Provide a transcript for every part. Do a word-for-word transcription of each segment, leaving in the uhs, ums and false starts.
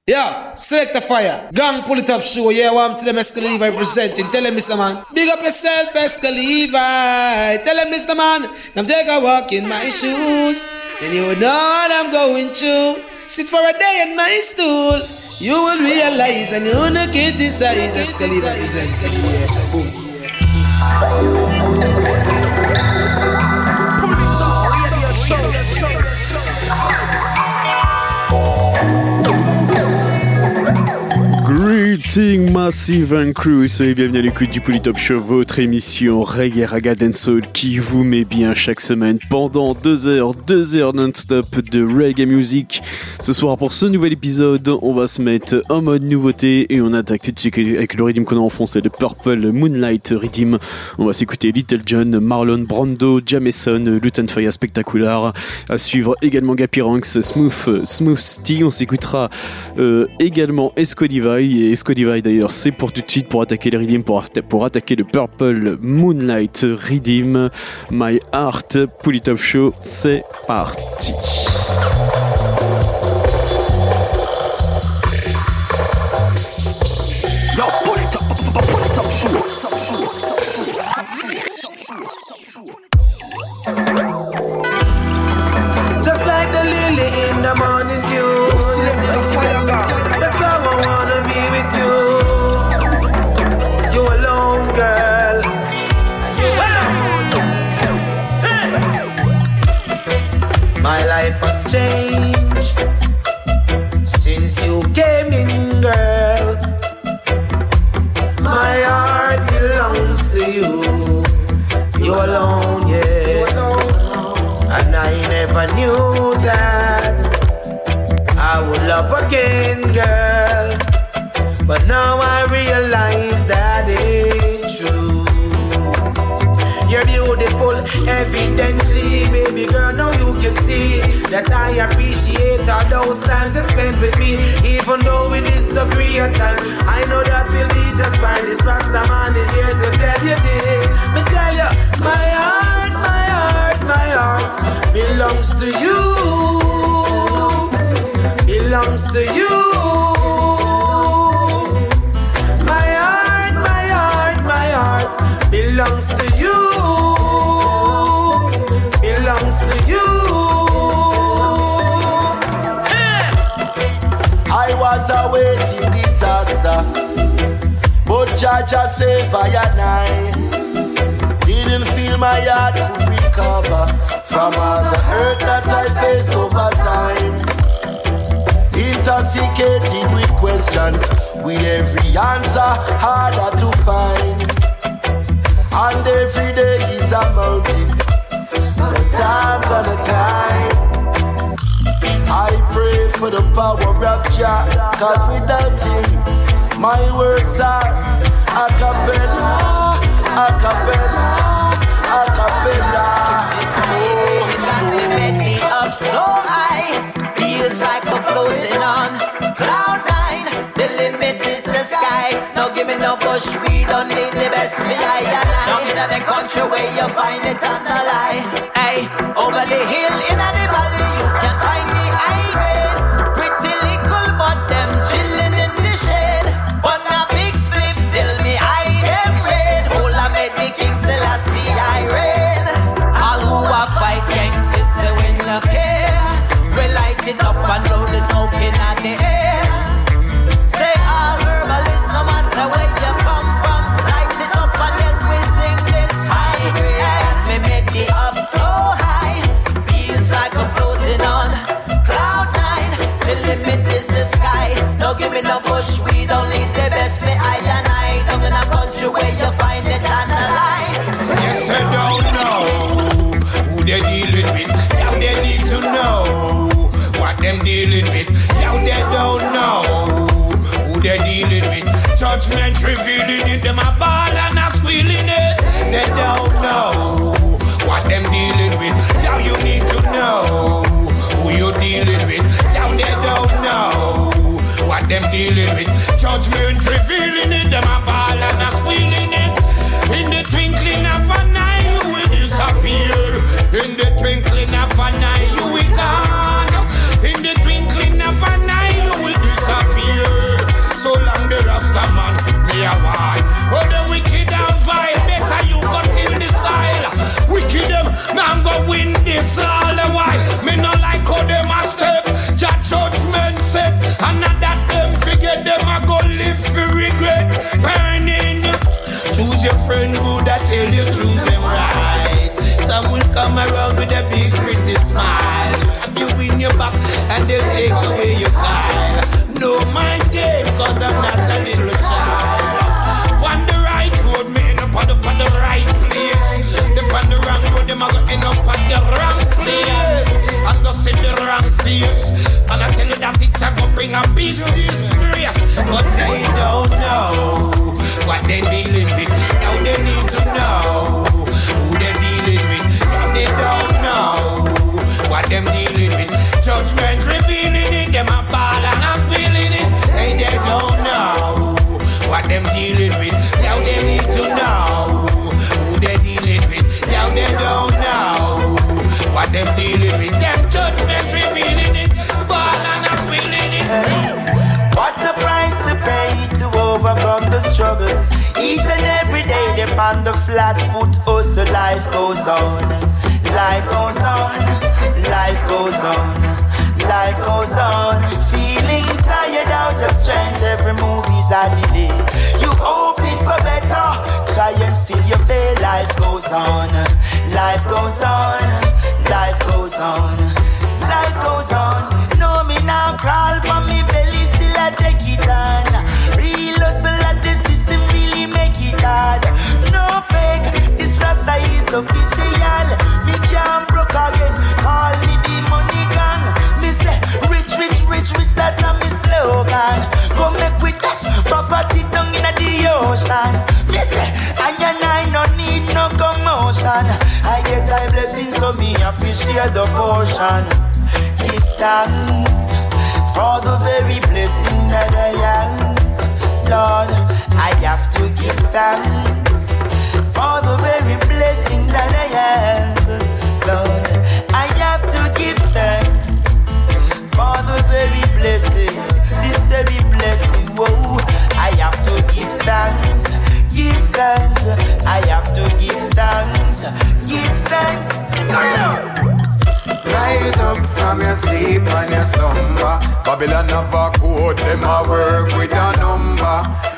Yeah, select the fire. Gang pull it up show. Yeah, I'm to them Esco Levi presenting. Tell them, Mister Man. Big up yourself, Esco Levi. Tell them, Mister Man. Come take a walk in my shoes. And you will know what I'm going through. Sit for a day in my stool. You will realize and you will not criticize. Esco Levi presenting. Yeah, boom. Greeting Massive and Crew, soyez bienvenus à l'écoute du Polytop Show, votre émission Reggae, Raga, Dancehall qui vous met bien chaque semaine pendant deux heures, deux heures non-stop de Reggae Music. Ce soir pour ce nouvel épisode, on va se mettre en mode nouveauté et on attaque tout de suite avec le rythme qu'on a enfoncé de Purple Moonlight Rhythm. On va s'écouter Little John, Marlon Brando, Jameson, Lutan Fyah Spectacular. À suivre également Gappy Ranks, Smooth, Smooth T. On s'écoutera euh, également Esco Levi. Et Esco Levi d'ailleurs, c'est pour tout de suite pour attaquer les rhythms, pour, pour attaquer le Purple Moonlight Rhythm. My Heart, Polytop Show, c'est parti. Yo, Polytop, Polytop Show. Just like the lily in the morning dew. That's how I wanna be with you. You alone, girl. You alone. My life has changed since you came in, girl. My heart belongs to you. You alone, yes. And I never knew that I would love again, girl. But now I realize that it's true. You're beautiful, evidently, baby girl. Now you can see that I appreciate all those times you spent with me. Even though we disagree at times, I know that we'll be just fine. This Rasta man is here to tell you this. Me tell you, my heart, my heart, my heart belongs to you. Belongs to you. My heart, my heart, my heart belongs to you. Belongs to you. I was awaiting disaster, but Jaja saved I and I. Didn't feel my heart could recover from all the hurt that I faced over time. Intoxicated with questions, with every answer harder to find. And every day is a mountain that I'm gonna climb. I pray for the power of Jah, cause without him, my words are a cappella, a cappella, a cappella. Oh, you made me up so high, feels like I'm floating on cloud nine. The limit is the sky. Now give me no bush, we don't need the best for I and I. Now in the country where you find it on the line. Hey, over the hill, in the valley, you can find the high grade. Pretty little, but them chilling in the shade. On a big split, till me I them red. Hold I made the King Selassie I reign. All who are fight gangs, it's a win the care. We light it up and blow the smoke in the air. Say all herbalists, no matter where you come from, light it up and help we sing this high grade. Me made the up so high, feels like I'm floating on cloud nine. The limit is the sky. Don't give me no bush, we don't need the best. Me I and I, down in a country where you find it on the line. Yes, they don't know who they're dealing with. Now they need to know what them dealing with. Now they don't know who they're dealing with. Judgment revealing it, them a ball and a squealing it. They don't know what them dealing with. Now you need to know who you're dealing with. Now they don't know what them dealing with. Judgment revealing it, them a ball and a squealing it. In the twinkling of an eye, you will disappear. In the twinkling of an eye, you will gone. In the twinkling of an eye, you will disappear. your friend good that tell you choose them right. Some will come around with a big pretty smile, stab you in your back and they'll take away your car. No mind game, cause I'm not a little child. On the right road, me end up on the, on the right place. The on the wrong road, them a go end up on the wrong place. I go see the wrong face, and I tell you that it's a go bring a big disgrace. But they don't know what they dealing with. Now they need to know who they dealing with. Now they don't know what them dealing with. Judgment revealing it, them a ball and a squealing it. Hey, they don't know what them dealing with. Now they need to know who they dealing with. Now they don't know what them dealing with. Them judgment revealing it, ball and a squealing it. What a price to pay to overcome the struggle. Each and every day they on the flat foot, oh so life goes on. Life goes on, life goes on, life goes on. Feeling tired out of strength, every move is a delay. You hoping for better, try and still you fail. Life goes on, life goes on, life goes on, life goes on. No me now crawl for me belly, still I take it on. Real hustle at the system really make it hard. No fake, this Rasta is official. Me can't broke again, call me the money gang. Me say rich, rich, rich, rich, that na me slogan. Come make we touch, poverty down in the ocean. Me say I and I no need no commotion. I get my blessings so me appreciate the portion. Give thanks for the very blessing that I am. Lord, I have to give thanks for the very blessing that I am. Lord, I have to give thanks for the very blessing, this very blessing. Whoa, I have to give thanks, give thanks. I have to give thanks, give thanks. Rise up from your sleep and your slumber. Babylon have a code, them a work with a number.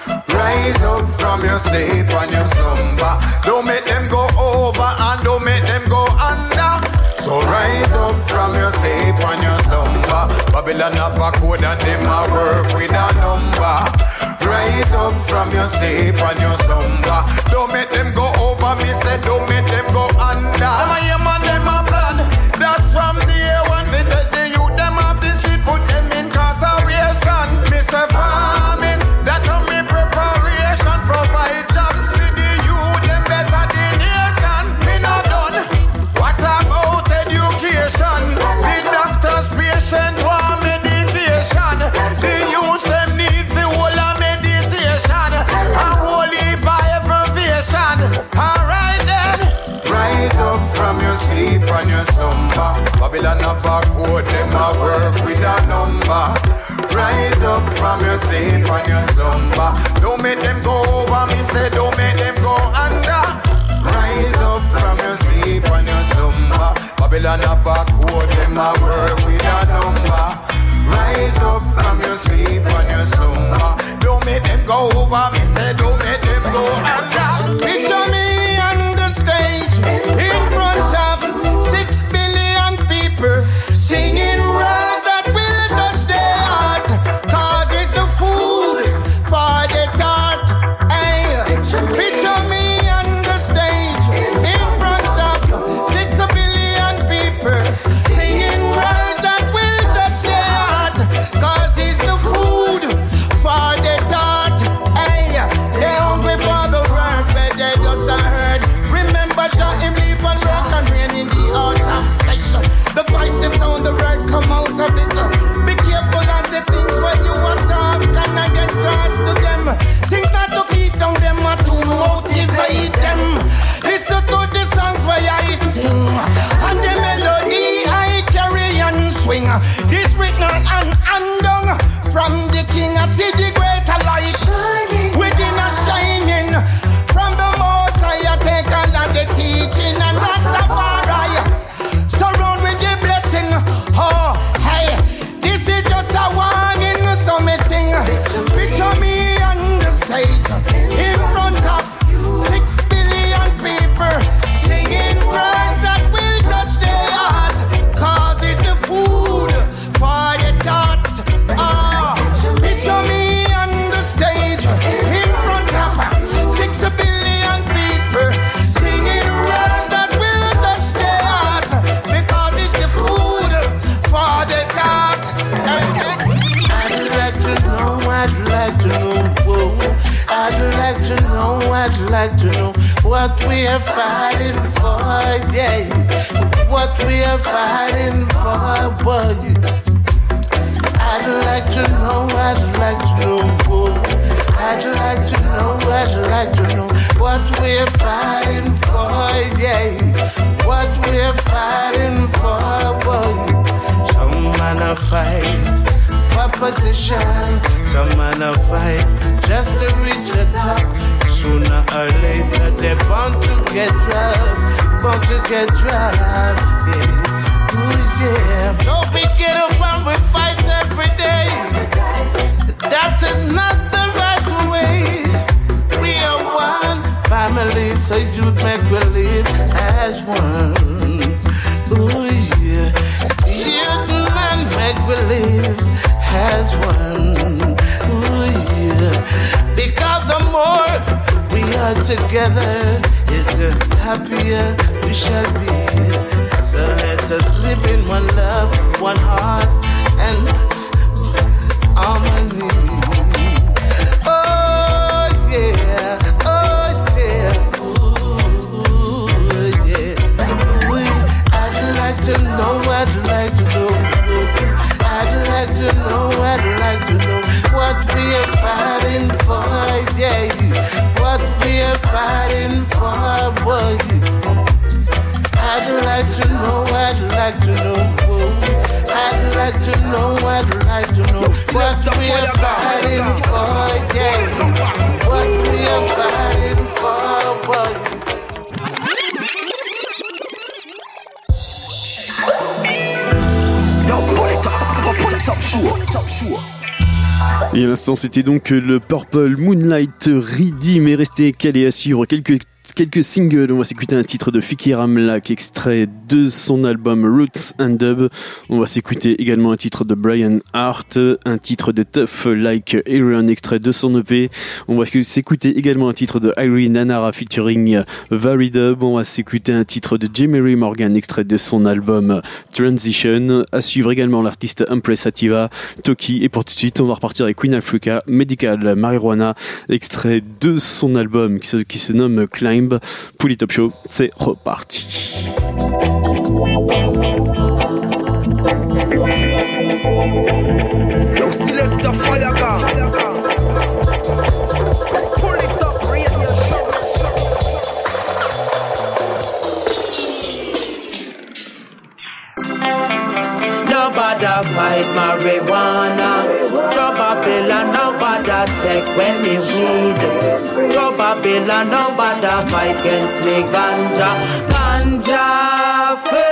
Rise up from your sleep and your slumber. Don't make them go over and don't make them go under. So rise up from your sleep and your slumber. Babylon have a code and them a work with a number. Rise up from your sleep and your slumber. Don't make them go over, me say don't make them go under. Them a hear man, them a plan. That's from the year one, we take the youth, them off the street, put them in incarceration. Me say farming, that no me preparation. Provide jobs for the youth, them better the nation. Me not done, what about education? The doctor's patient want medication. The youth them need for whole of meditation. A whole heap of abbreviation. Alright then, rise up from your sleep and your slumber. Babylon have a code, them a work with a number. Rise up from your sleep and your slumber. Don't make them go over, me say don't make them go under. Rise up from your sleep and your slumber. Babylon have a code, them a work with a number. Rise up from your sleep and your slumber. Don't make them go over, me say don't make them go under. Picture me on the stage in front of six billion people singing words that will touch their heart. Cause it's the food for the thought. Hey, picture me on the stage in front of six billion people singing words that will touch their heart. Cause it's the food for the thought. Hey, they're hungry for the word, but they just heard. Remember, shot him leave and rock and rain in the autumn flesh. The voice, the sound, the word come out of it. Be careful of the things when you are talk and I get cross to them. Things not to keep down them or to motivate them. Listen to the songs where I sing and the melody I carry and swing. This written and undone from the king. I see the greater light within a shining. From the most I take all of the teaching and Rastafari surround with the blessing. Oh, hey, this is just a warning, so me sing. Picture me on the stage in front of six like to know what we are fighting for, yeah. What we are fighting for, boy. I'd like to know, I'd like to know, boy. I'd like to know, I'd like to know what we're fighting for, yeah. What we're fighting for, boy. Some man a fight for position, some man a fight just to reach the top. Sooner or later they're bound to get dropped, bound to get dropped, yeah. Ooh, yeah. So we get up and we fight every day. That is not the right way. We are one family, so you'd make we live as one. Ooh, yeah. You'd man make we live as one. Ooh, yeah. Because the more we are together, is the happier we shall be. So let us live in one love, one heart, and harmony. Oh yeah, oh yeah, ooh yeah. We, I'd like to know, I'd like to know, I'd like to know, I'd like to know what we are fighting for, yeah. What we are fighting for, boy. I'd like to know, I'd like to know, I'd like to know, I'd like to know what we are fighting for, yeah. What we are fighting for, boy. Et à l'instant, c'était donc le Purple Moonlight Redeem est resté calé à suivre quelques quelques singles. On va s'écouter un titre de Fikir Amlak, extrait de son album Roots and Dub. On va s'écouter également un titre de Brian Hart, un titre de Tough Like Aaron, extrait de son E P. On va s'écouter également un titre de Irene Nanara featuring Varidub. On va s'écouter un titre de Jemery Morgan, extrait de son album Transition. À suivre également l'artiste Empress Sativa, Toki. Et pour tout de suite, on va repartir avec Queen Africa, Medical Marijuana, extrait de son album qui se, qui se nomme Climb. Pouli Top Show, c'est reparti. Yo, select a fire gun. Pull it up, radio show. Nobody fight marijuana. Drop a bill and nobody take when me weed. Drop a bill and nobody fight against me ganja. Ganja fe.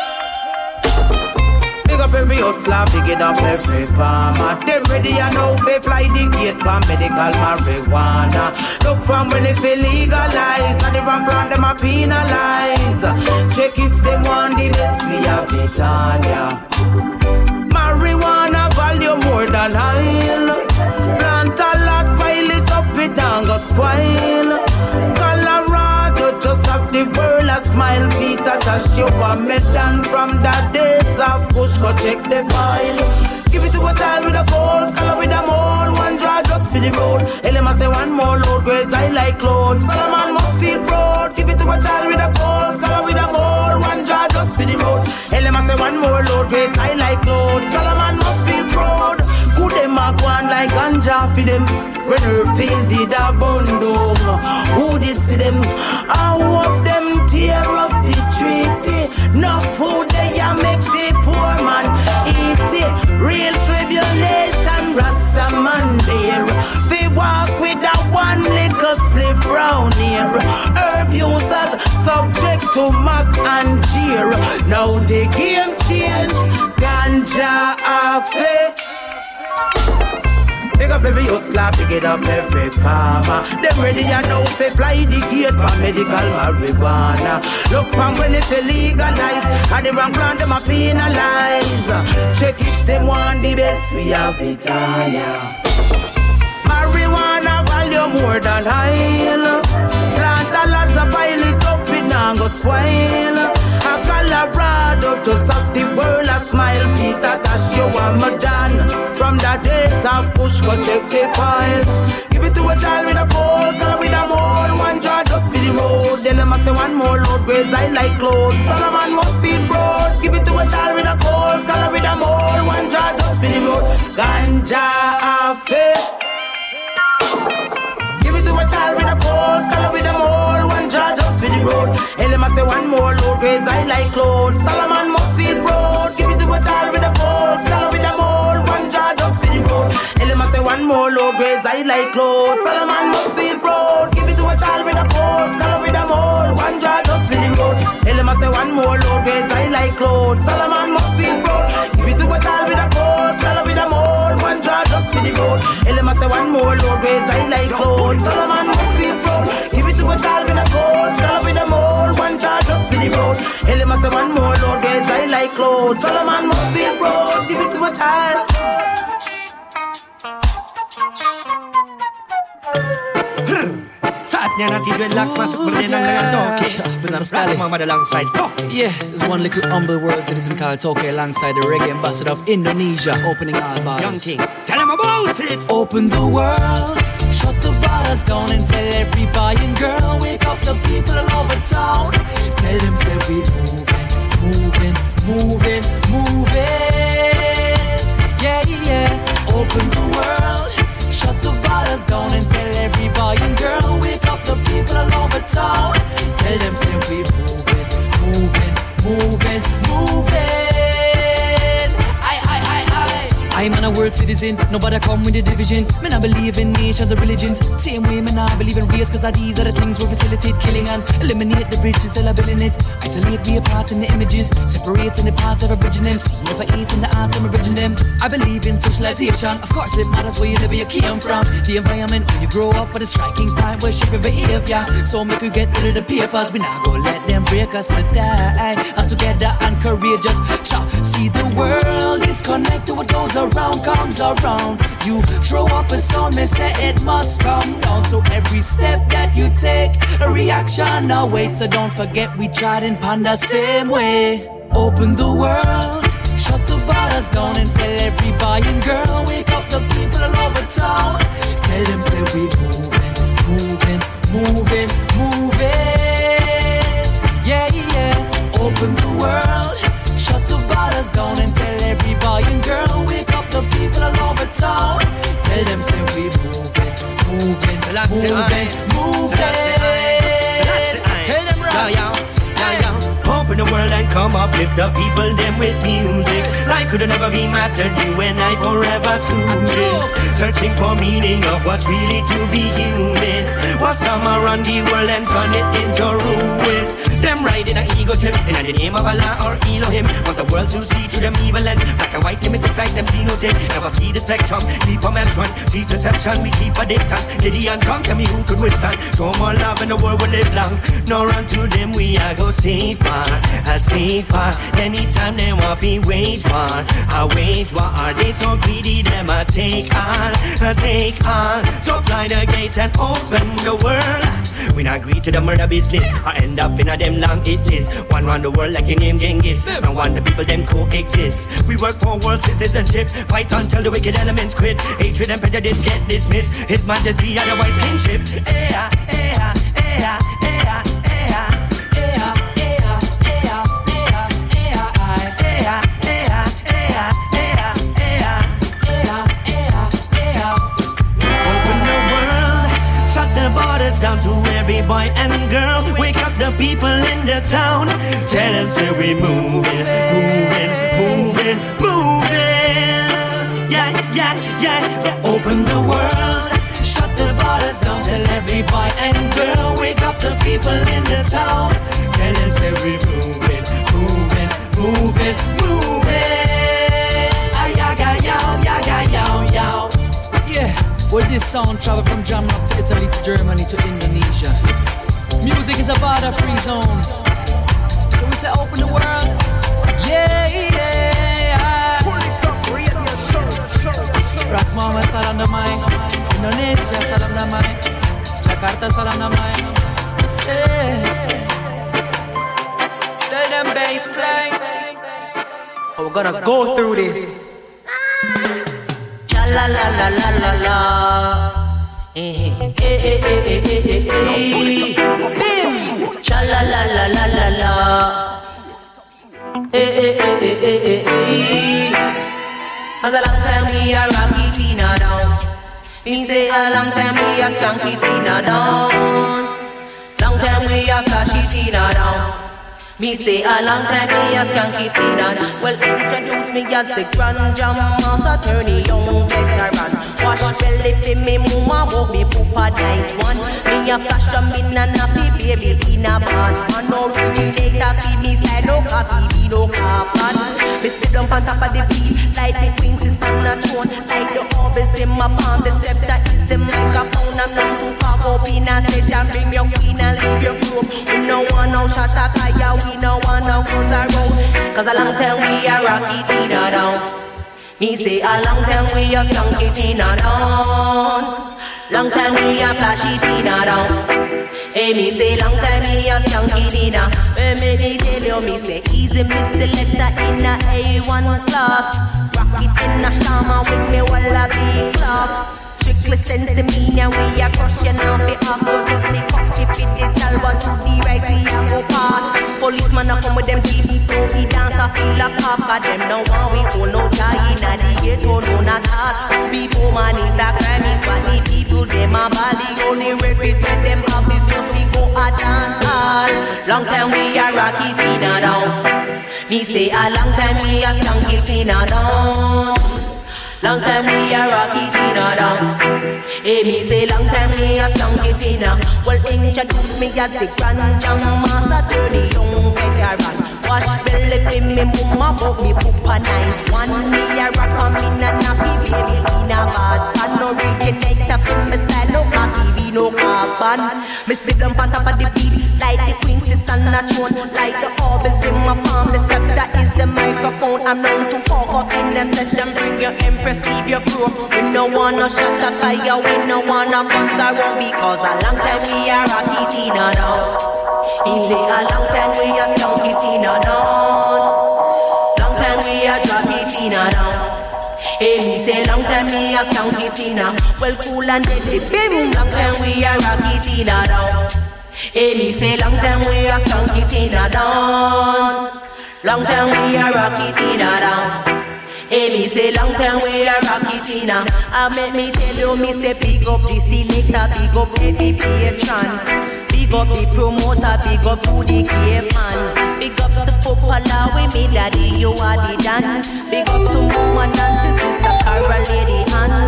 Big up every hustler, big it up every farmer. Them ready and now fi fly the gate for medical marijuana. Look from when it feel legalize and the wrong plan them a penalize. Check if them want the best we have it on ya. Marijuana value more than oil. Plant a lot, pile it up, it and go spoil. Colorado just have the world a smile. Peter Tosh, you a medal from the days of push. Go check the file. Give it to a child with a cold, scholar with a mole. One draw just for the road. Elema say one more load, grades I like clothes. Solomon must feel proud. Give it to a child with a cold, scholar with a mole. One draw just for the road. Elema say one more load, grades I like clothes. Solomon must feel proud. Good them a go on like ganja for them. When her field did a bundle, who did see them? I hope them tear up the treaty. No food they a make the poor man eat it. Real tribulation, Rasta man there. They walk with a one little spliff round here. Herb users subject to mock and jeer. Now the game change, ganja affair. Pick up every hustler, pick it up every farmer. Them ready and now fi fly the gate for medical marijuana. Look from when it feel legalized and the wrong plan them a penalize. Check if them want the best, we have it on ya. Marijuana value more than oil. Plant a lot of pile it up, it now not go spoil. A Colorado, just up the world a smile. Peter Tosh, you want me done. From the days of push, go check the file. Give it to a child with a pose, girl with a mole. One jar just for the road. Then them a say one more load, graze I like clothes. Solomon must feel broad. Give it to a child with a pose, girl with a mole. One jar just for the road. Ganja affair. Give it to a child with a pose, girl with a mole. One jar just for the road. And them a say one more load, graze I like clothes. Solomon must feel broad. Give it to a child with a pose, girl with a mole. One jar just for the road. And them a say one more load, graze I like clothes. Solomon must feel proud. Give it to a child with a pose, girl with a mole. One jar just for the road. And them a say one more load, graze I like clothes. Solomon must feel proud. Give it to a child with a pose, girl with a mole. One jar just for the road. And them a say one more load, graze I like clothes. Solomon must feel proud. Give it to a child with a pose, girl with a mole. One jar just for the road. And them a say one more load, graze I like clothes. Solomon must feel proud. Give it to a child. Yeah, there's one little humble word that isn't called Toke alongside the reggae ambassador of Indonesia, opening all bars. Young King, tell him about it. Open the world, shut the borders down and tell every boy and girl, wake up the people all over town. Tell them say we moving, moving, moving, moving. Yeah, yeah. Open the world, shut the borders down and tell every boy and girl, wake up the people all over town. Tell them say we moving, moving, moving, moving. I, I, I, I. I'm an a world citizen, nobody come with the division. Me not believe in nations or religions. Same way me not believe in race, cause these are the things we facilitate killing and eliminate the bridges that are building it. Isolate me apart in the images, separating the parts of a bridging them. See, never eat in the art of bridging them. I believe in socialization, of course it matters where you live, where you came from. The environment where you grow up, but a striking point will shape your behavior. So make we get rid of the papers, we not go let them break us to die. All together and courageous, Cha. See the world is connected, what goes around comes around. You throw up a sound, me say it must come down. So every step that you take, a reaction awaits. So don't forget we tried and pond the same way. Open the world, shut the borders down and tell every boy and girl, wake up the people all over town. Tell them say we moving, moving, moving, moving. Yeah, yeah. Open the world, shut the borders down and tell every boy and girl, wake up the people all over town. Tell them say we moving, moving, moving, moving. Tell them right. Open the world and come up, lift the people them with music. Life could never be mastered, you and I forever students. Searching for meaning of what's really to be human. What's some around the world and turn it into ruins. Them riding an ego trip in the name of Allah or Elohim. Want the world to see through them evil lens. Black and white limited sight, them see no thing. Never see the spectrum, keep a man's run. Teach deception, we keep a distance. Gideon come, tell me who could withstand. Show more love and the world will live long. No run to them, we are go stay far. I stay far. Anytime they want me wage war, I wage war. Are they so greedy? Them I take on, I take on. So fly the gate and open the world. We not agree to the murder business. I end up in a them long hit list. One round the world like your name Genghis. And one the people them coexist. We work for world citizenship. Fight until the wicked elements quit. Hatred and prejudice get dismissed. His majesty otherwise kingship. Yeah, yeah, yeah, yeah. Down to every boy and girl, wake up the people in the town. Tell them say we moving, moving, moving, moving. Yeah, yeah, yeah, yeah. Open the world, shut the borders down. Tell every boy and girl, wake up the people in the town. Tell them say we moving, moving, moving, moving. Ah, yaga, yow, yaga, yow, yow. Yeah. Well, this sound travel from Jamrock to Italy to Germany to Indonesia. Music is a border-free zone. So we say open the world. Yeah, yeah. Ras Muhammad salam damai. Indonesia salam damai. Jakarta salam damai. Yeah. Tell them bass plate. Oh, we're gonna go through this. Cha la la la la la la. Eh eh eh eh eh eh eh. Bim. Cha la la la la la la. Eh eh eh eh eh eh. Cause a long time we a rocky Tina down. We say a long time we a skanky Tina down. Long time we a flashy Tina down. Me say a long time me a skanky Tina. Well, introduce me as the grand jam master, turn the young veteran. Wash belly for me mama, walk me poopa night one. Me a flash a min and happy baby in a band. Man originator fi me style, no copy, me no carbon. Me sit down on top of the beat, like the queen sister on a throne. Like the orbis in my palm, the scepter is the microphone. I'm not too far up in a session, bring your queen and leave your room. We no want no shot at fire, we no want no guns around. Cause a long time we a rocky Tina dance. Me say a long time we a skunky Tina dance. Long time we a flashy Tina dance. Hey, me say long time me a skunky Tina. Well, make me tell you, me say easy me selector in a A one class. Rock it in a shama with me wallaby clocks. Strictly sense me now we a crush you now be off. Don't let me catch it fit the chalwa to the right we a go past. Policeman a come with them cheap. So we dance a feel a cock. Cause them now want we own no tie in a the ghetto no not hard. Before man is a crime is what the people them a bally. Only record when them have is just to go a dance hall. Long time we a rocky Tina dance. Me say a long time we a skunky Tina dance. Long time we a rocky Tina dance. Hey, me say long time we a skunky Tina. Well, introduce me as the grand jam master, turn the young veteran. Wash belly for me mama, but me poopa night one. Me a rock a min and happy baby in a bad pan. Originator for me style, no cocky, we no carbon. Me sit down on top of the beat, like the queen sits on a throne. Like the orbis in my palm, the scepter is the microphone. I'm known to fuck up in the session, bring your empress, leave your crew. We no want no shot of fire, we no want no guns around. Because a long time we a rocky Tina dance. He say a long time we a skunky Tina dance. Long time we a droppy Tina dance. Hey, me say long time me a skunky Tina. Well, cool and deadly, bim. Long time we a rocky Tina dance. Hey, me say long time we a skunky Tina dance. Long time we a rocky Tina dance. Hey, me say long time we a rocky Tina. I make me tell you, me say big up the selector, big up every patron. Big up the promoter, big up to the gay man. Big up the footballer with me daddy, you are the dan. Big up to mama Nancy, sister Carol, lady Ann.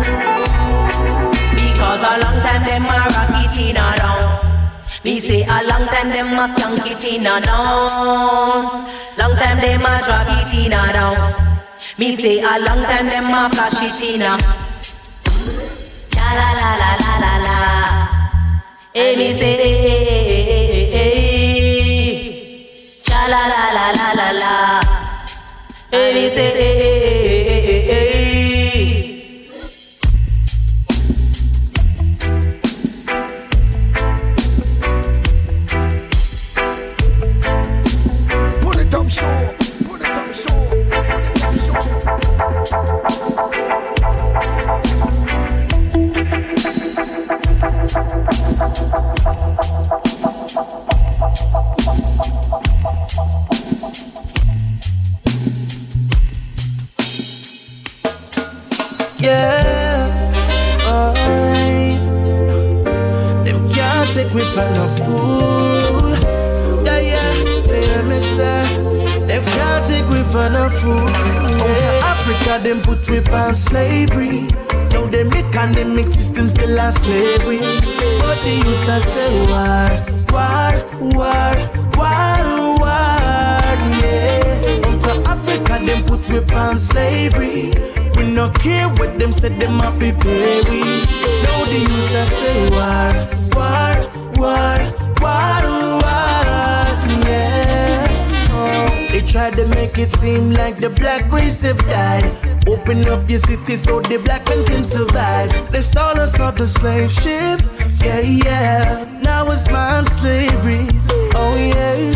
Because a long time them a rocky Tina dance. Me say a long time them a skunky Tina dance. Long time them a rocky Tina dance. Me say a long time them a flashy Tina. Cha la la la la la la. Hey, me say hey, hey, hey, hey, hey. Cha la la la la la la. Hey, me say hey, hey, hey, hey, hey. Pull it up, show. Pull it up, show. Yeah, boy. Them can't take me for no fool. Yeah, yeah, they hear me say. Them can't take me for no fool. Out of Africa, them put me on slavery. Now they make and they make system still a slavery. But the youths are say war, war, war, war, war, yeah. Out of Africa, them put me on slavery. We no care what them said, them have to pay we. Now the youths are say war, war, war, war, war, yeah. Oh. They try to make it seem like the black race have died. Open up your city so the black man can survive. They stole us off the slave ship, yeah, yeah. Now it's man slavery, oh yeah.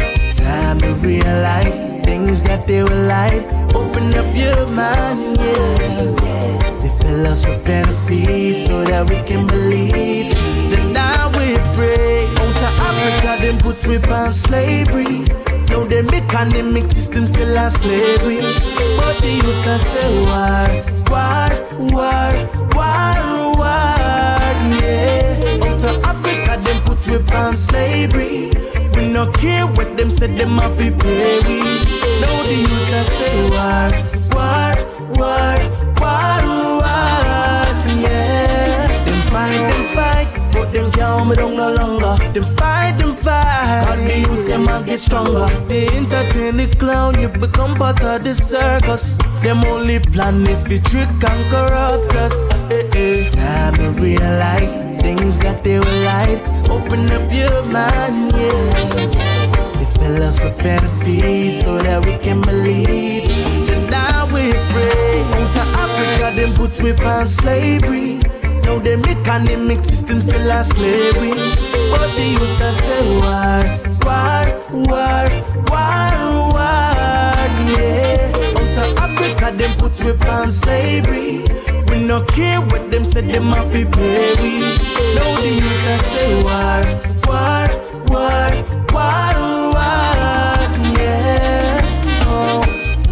time to realize things that they were like. Open up your mind, yeah. They fill us with fantasy so that we can believe. Then now we're free. Out to Africa, them put we on slavery. Now them economic system still a slavery. But the youths are say war, war, war, war, war, yeah. Out to Africa, them put we on slavery. We no care what them said, them have to pay we. Now the youths are say war, war, war, war, war, yeah. Them fight, them fight, but them can't me down no longer. Them fight, them fight, cause the youths them a get stronger. They entertain the clown, you become part of the circus. Them only plan is to trick and corrupt us. Eh, eh. It's time to realize things that they were like. Open up your mind, yeah. They fill us with fantasy so that we can believe. Then now we're free. To Africa, them put we on slavery. Now them economic system still a slavery. But the youths are say war, war, war, war, war, yeah. To Africa, them put we on slavery. We no care what them said, them have to pay we. Now the youths are say war, war, war, war, war, yeah. Oh.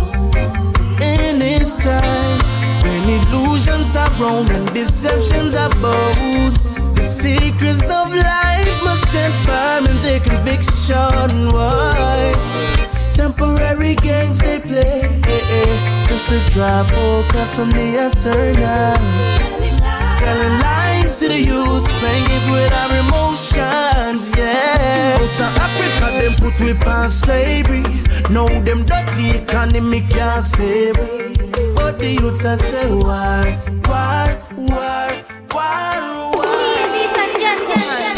In this time, when illusions are wrong and deceptions are both, the secrets of life must stand firm in their conviction. Why? Temporary games they play, eh, eh, just to drive focus on the eternal. Telling lies to the youth, playing games with our emotions, yeah. Out of Africa, them put we on slavery. Now them dirty economy can't save we. But the youths are say war, war, war, war, war. Ladies and gentlemen,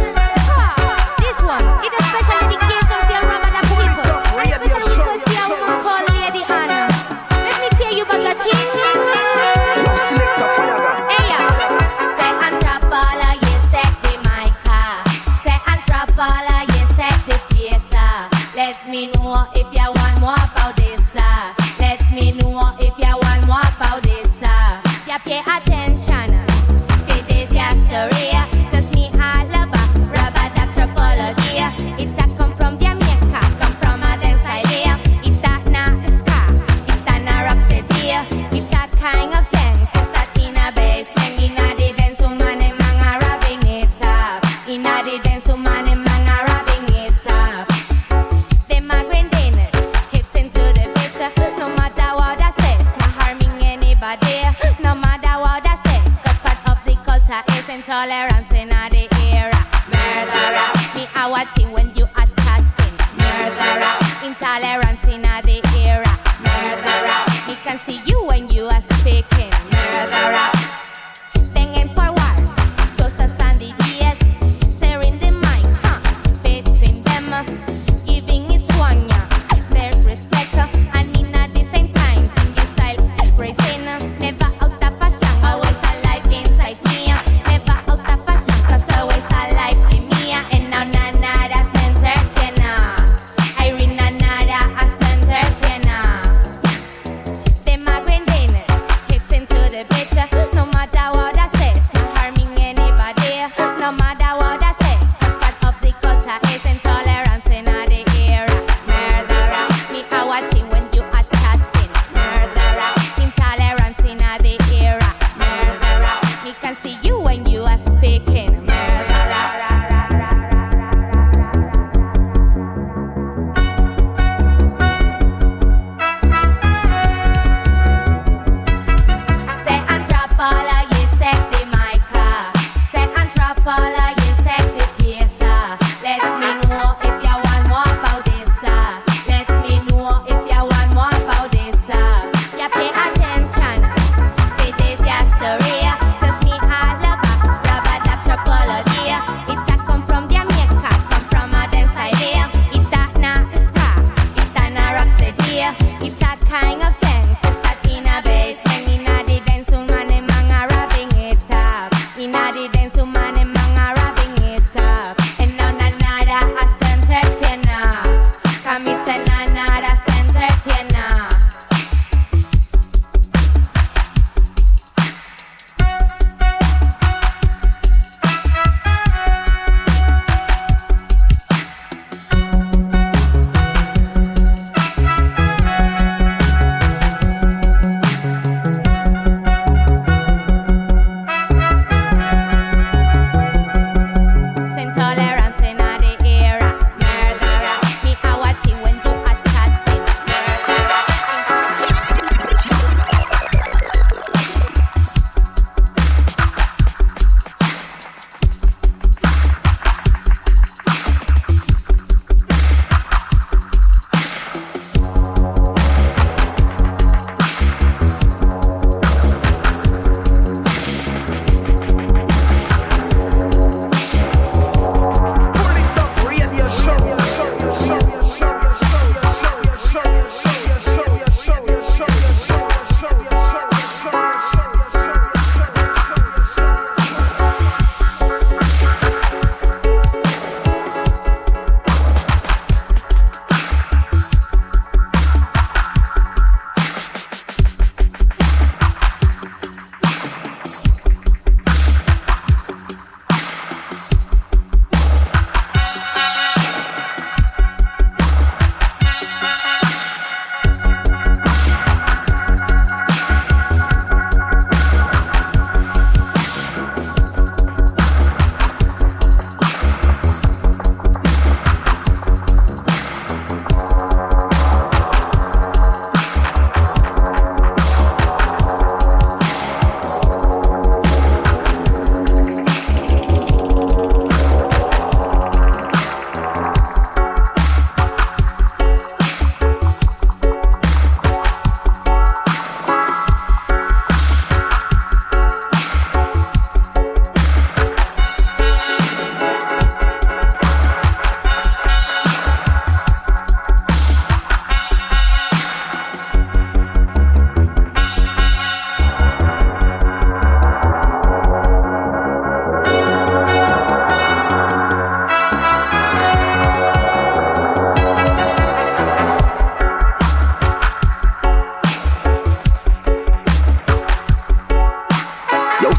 ah, this one is a special dedication for your rubber that people. Especially because we are woman called Lady Anna. Let me tell you about the thing. Yo, select a fire gun. Hey, yeah. Say Anthropola, yes, take the mic. Say Anthropola, yes, take the piece. Let me know if you want more about this. Let me know if you want more about this. You pay attention. Pay this your story. Cause me all about rubber anthropology. It's a come from Jamaica, come from a dance idea. It's a na ska, it's a na rock steady. It's a kind of thing, so start in a basement. In a the dance woman and man are rubbing it up. In a the dance woman and man are rubbing it up. Them a grinding hips into the beat. No matter what I say, it's not harming anybody. No matter what I say, cause part of the culture is intolerance in the era. Murderer, me I watching when you are chatting. Murderer, intolerance in the era. Murderer, me can see you when you are speaking. Murderer, banging for war, just as Sandy Diaz, sharing the mic, huh, between them, giving it one, yeah, their respect, and in at the same time, singing style, praising, never out of fashion, always alive inside me, never out of fashion, cause always alive in me, and now nada entertainer, I read nada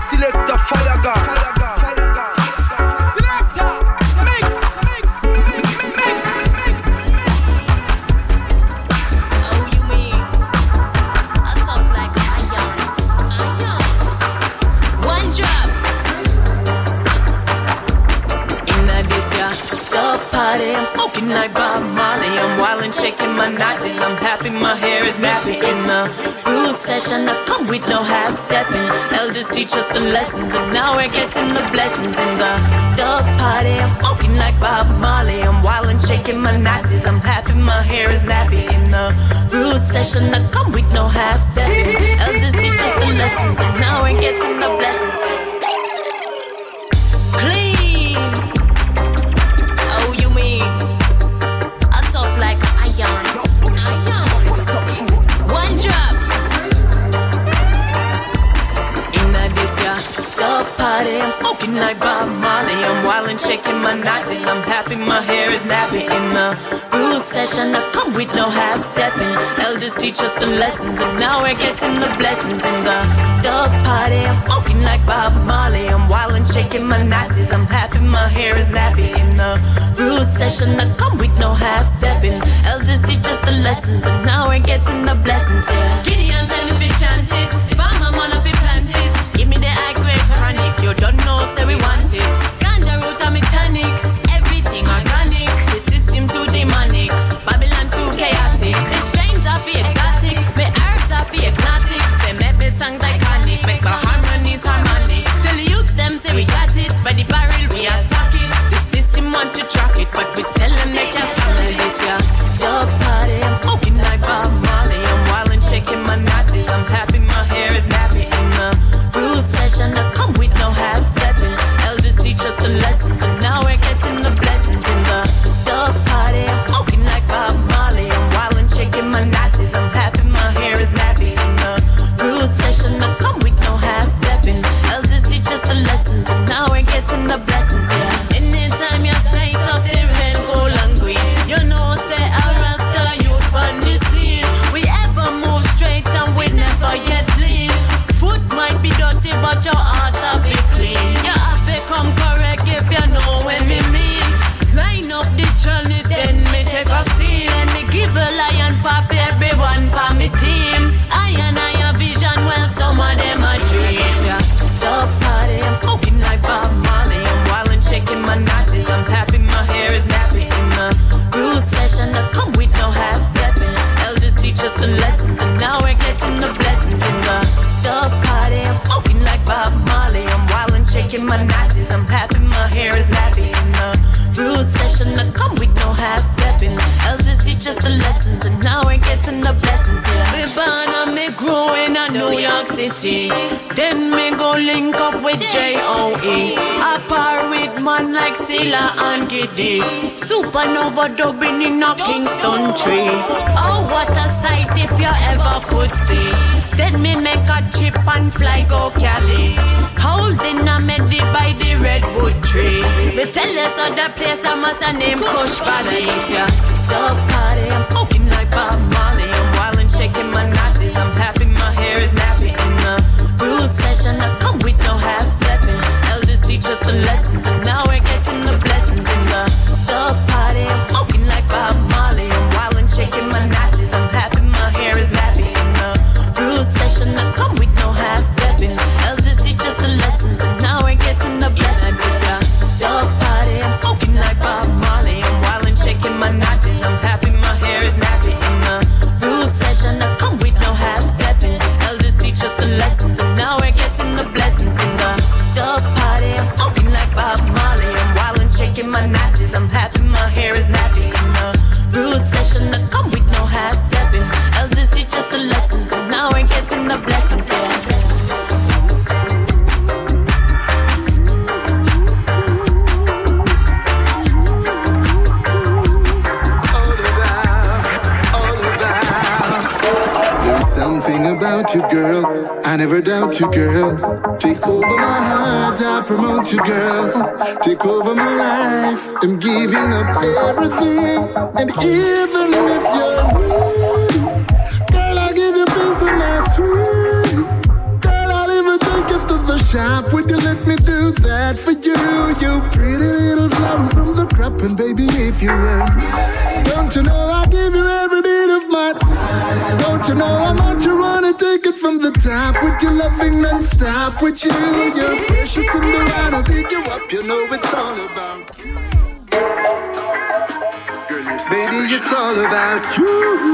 Selector Fire God. I'm smoking like Bob Marley. I'm wild and shaking my nineties. I'm happy, my hair is nappy. In the root session, I come with no half stepping. Elders teach us the lessons, and now we're getting the blessings. In the dub party, I'm smoking like Bob Marley. I'm wild and shaking my nineties. I'm happy, my hair is nappy. In the root session, I come with no half stepping. Elders teach us the lessons, and now we're getting the blessings. Clean. I'm smoking like Bob Marley. I'm wild and shaking my nineties. I'm happy, my hair is nappy. In the root session, I come with no half stepping. Elders teach us the lessons, and now we're getting the blessings. In the dub party, I'm smoking like Bob Marley. I'm wild and shaking my nineties. I'm happy, my hair is nappy. In the root session, I come with no half stepping. Elders teach us the lessons, and now we're getting the blessings. Yeah. Gideon tell me we chant it. If I'm a man, if we plant it. Give me the high grade chronic. You don't know, say we want it. Ganja root and me tonic. Everything organic. The system too demonic. Babylon too chaotic. The strains are for exotic. My herbs are for hypnotic. They make me songs iconic. Make my harmonies harmonic. Tell the youths them say we got it. By the barrel we are stock it. The system want to track it, but we tell them they can't stand this, yeah. Dub party, I'm smoking like Bob Marley. I'm wild and shaking my natties. I'm happy, my hair is nappy. In the root session, I come with no half stepping. Elders teach us the lessons, and now we're getting the blessings. In the dub party, I'm smoking like Bob Marley. I'm wild and shaking my natties. I'm happy, my hair is nappy. In the root session, I come with no half stepping. Elders teach us the lessons, and now we're getting the blessings. Yeah. Anytime you sight up the red, gold and green, you know say I rasta youth on the scene. We ever move straight and we never yet lean. Foot might be dirty, but your heart will be clean. You have to come correct if you know what me mean. Line up the chalice, then me take a steam. And me give a lion pop everyone for me team. I and I have vision, well some of them are dreams. Yeah. Dub party, I'm smoking like Bob Marley. I'm wild and shaking my natties. I'm happy, my hair is nappy. In the root session, I come with no half stepping. Elders teach us the lessons, and now we're getting the blessings. In the dub party, I'm smoking like Bob Marley. I'm wild and shaking my natties. I'm happy, my hair is nappy. In the root session, I come with no half stepping. Elders teach us the lessons, and now we're getting the blessings. Yeah. Me born and me grow in a New York City. Then me go link up with J O E. I par with man like Silla and Giddy. Supernova dubbing in a Kingston tree. Oh, what a sight if you ever could see. Then me make a trip and fly go Cali. Holding a medi by the redwood tree. Me tell us other place I must a name Kush Valley. Yeah. Dub party, I'm smoking like Bob Marley. I'm wild and shaking my natties. I'm happy, my hair is nappy. In the root session, I come with no half stepping. Elders teach us the lessons, and now we're getting the blessings. In the dub party, I'm smoking like Bob Marley. I'm wild and shaking my natties. I'm happy, my hair is nappy. In the root session, I come with no half stepping. Elders teach us the lessons, and now we're getting the blessings. Yeah. Dub party, I'm smoking like Bob Marley. I'm wild and shaking my natties. I'm happy, my hair is nappy. In the root session, I come with no half stepping. Elders teach us the lessons, and now we're getting the blessings. In the dub party, I'm smoking like Bob Marley. I'm wild and shaking my natties. I'm happy, my hair is nappy. In the root session, I come with no half stepping. Elders teach us the lessons, and now we're getting the blessings. Yeah. Something about you, girl, I never doubt you, girl. Take over my heart, I promote you, girl. Take over my life, I'm giving up everything. And even if you're me, girl, I'll give you a piece of my sweet. Girl, I'll even take you to the shop. Would you let me do that for you? You pretty little flower from the crop, and baby, if you will. Don't you know I give you every bit of my time? Don't you know how much you wanna take it from the top? With your loving non-stop, with you, you're precious and the right to pick you up. You know it's all about you. Baby, it's all about you.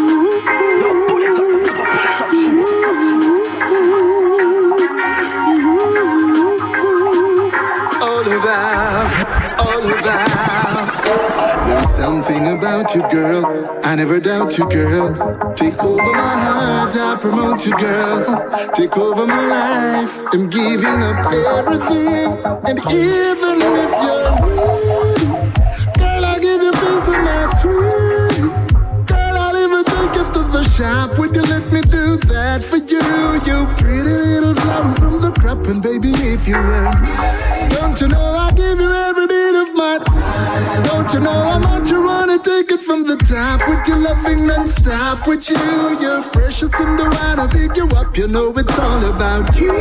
All about, all about. There's something about you, girl. I never doubt you, girl. Take over my heart, I promote you, girl. Take over my life. I'm giving up everything. And even if you're me, girl, I'll give you a piece of my sweet. Girl, I'll even take you to the shop. Would you let me do that for you? You pretty little flower from the crop, and baby, if you will. Don't you know I give you every bit of my time? Don't you know how much you wanna take it from the top? With your loving non-stop, with you, you're precious and the right to pick you up. You know it's all about you.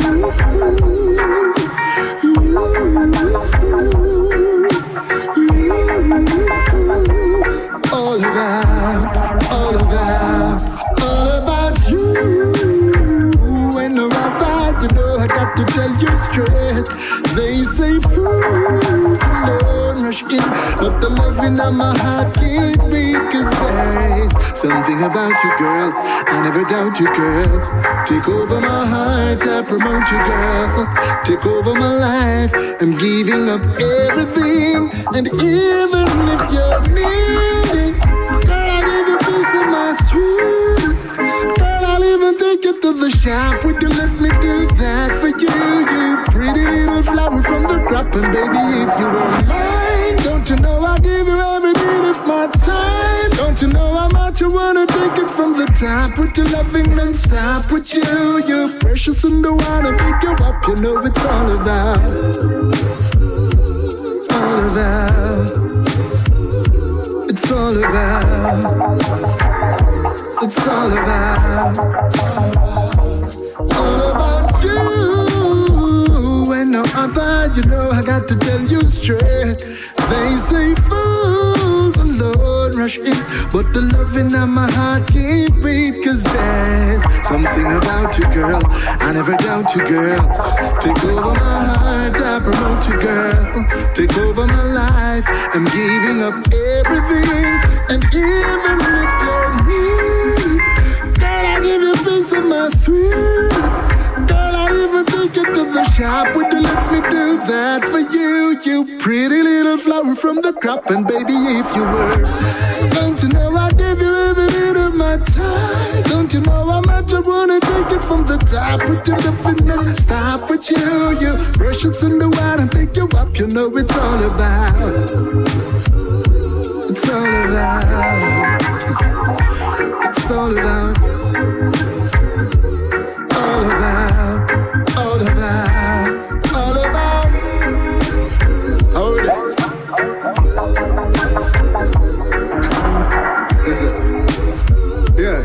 All about, all about, all about you. When I'm outside, you know I got to tell you straight. They say fools alone rush in, but the loving of my heart can't beat. Cause there is something about you, girl. I never doubt you, girl. Take over my heart, I promote you, girl. Take over my life, I'm giving up everything. And even if you're needing, girl, I'll give you a piece of my street. Girl, I'll even take you to the shop. Would you let me do that for you? You pretty little flower from the crop, and baby, if you were mine, don't you know I give you every bit of my time? Don't you know how much I wanna take it from the top? With your loving non-stop, with you, you're precious and I wanna pick you up. You know it's all about, all about. It's all about, it's all about, it's all about you. And no other, you know I got to tell you straight. They say fools alone rush in, but the loving of my heart can't beat. Cause there's something about you, girl. I never doubt you, girl. Take over my heart, I promote you, girl. Take over my life, I'm giving up everything. And even if you're me, girl, I'll give you a piece of my sweet. Girl, I'll even take you to the shop. Would you let me do that for you? You pretty little flower from the crop, and baby, if you were, don't you know I give you every bit of my time? Don't you know how much I wanna take it from the top? Put your loving and stop with you. You precious in the wild and pick you up. You know it's all about, it's all about, it's all about, all about, all about, all about. Hold it. Yeah.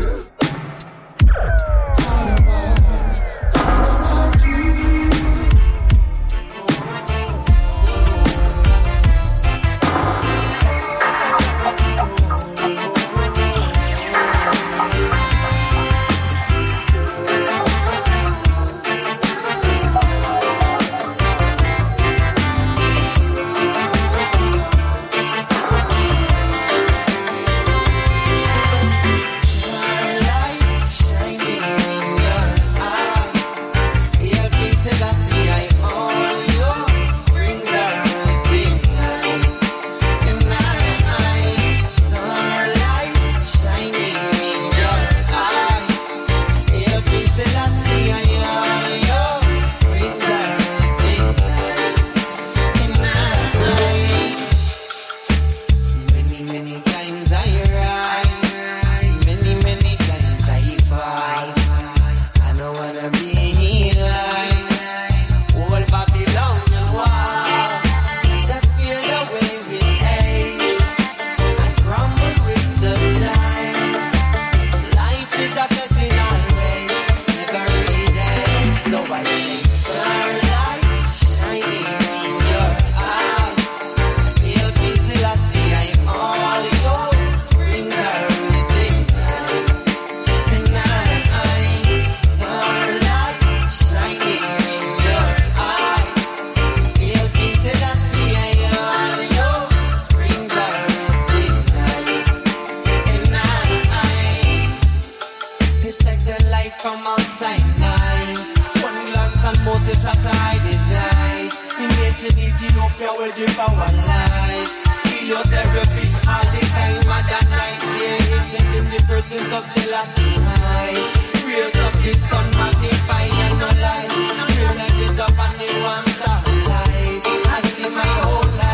your will give our life. Chemotherapy, all the time, mad and night. Yeah, ancient in the presence of Selassie. Raise up the sun, magnify and no lie. Feel like it's up and the one top light. I see my whole life.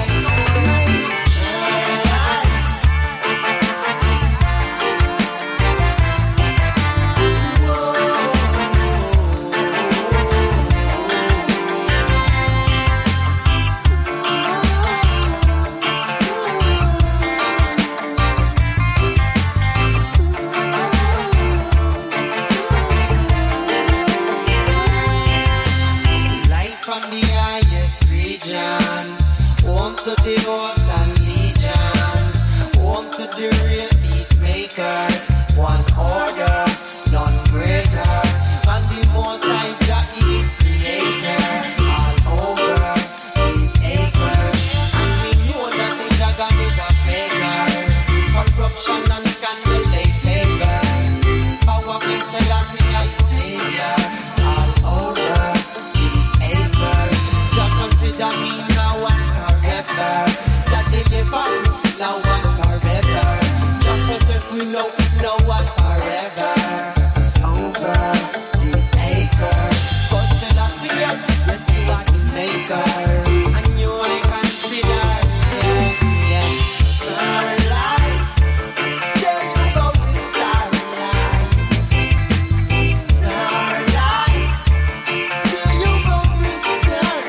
To the host and legions, home to the real peacemakers. One order, none greater. And the most high Jah is creator. All over these acres. And we know that the dragon is a faker. Corruption and scandal they favor. Power King Selassie as savior. All over these acres. Jah consider me now one that deliver, now and forever. Just protect we know, now and forever. Over these acres, but still I see it, yes you are the maker. And you I consider, yeah, yeah. Starlight, there you go with starlight. Starlight, there you go with starlight.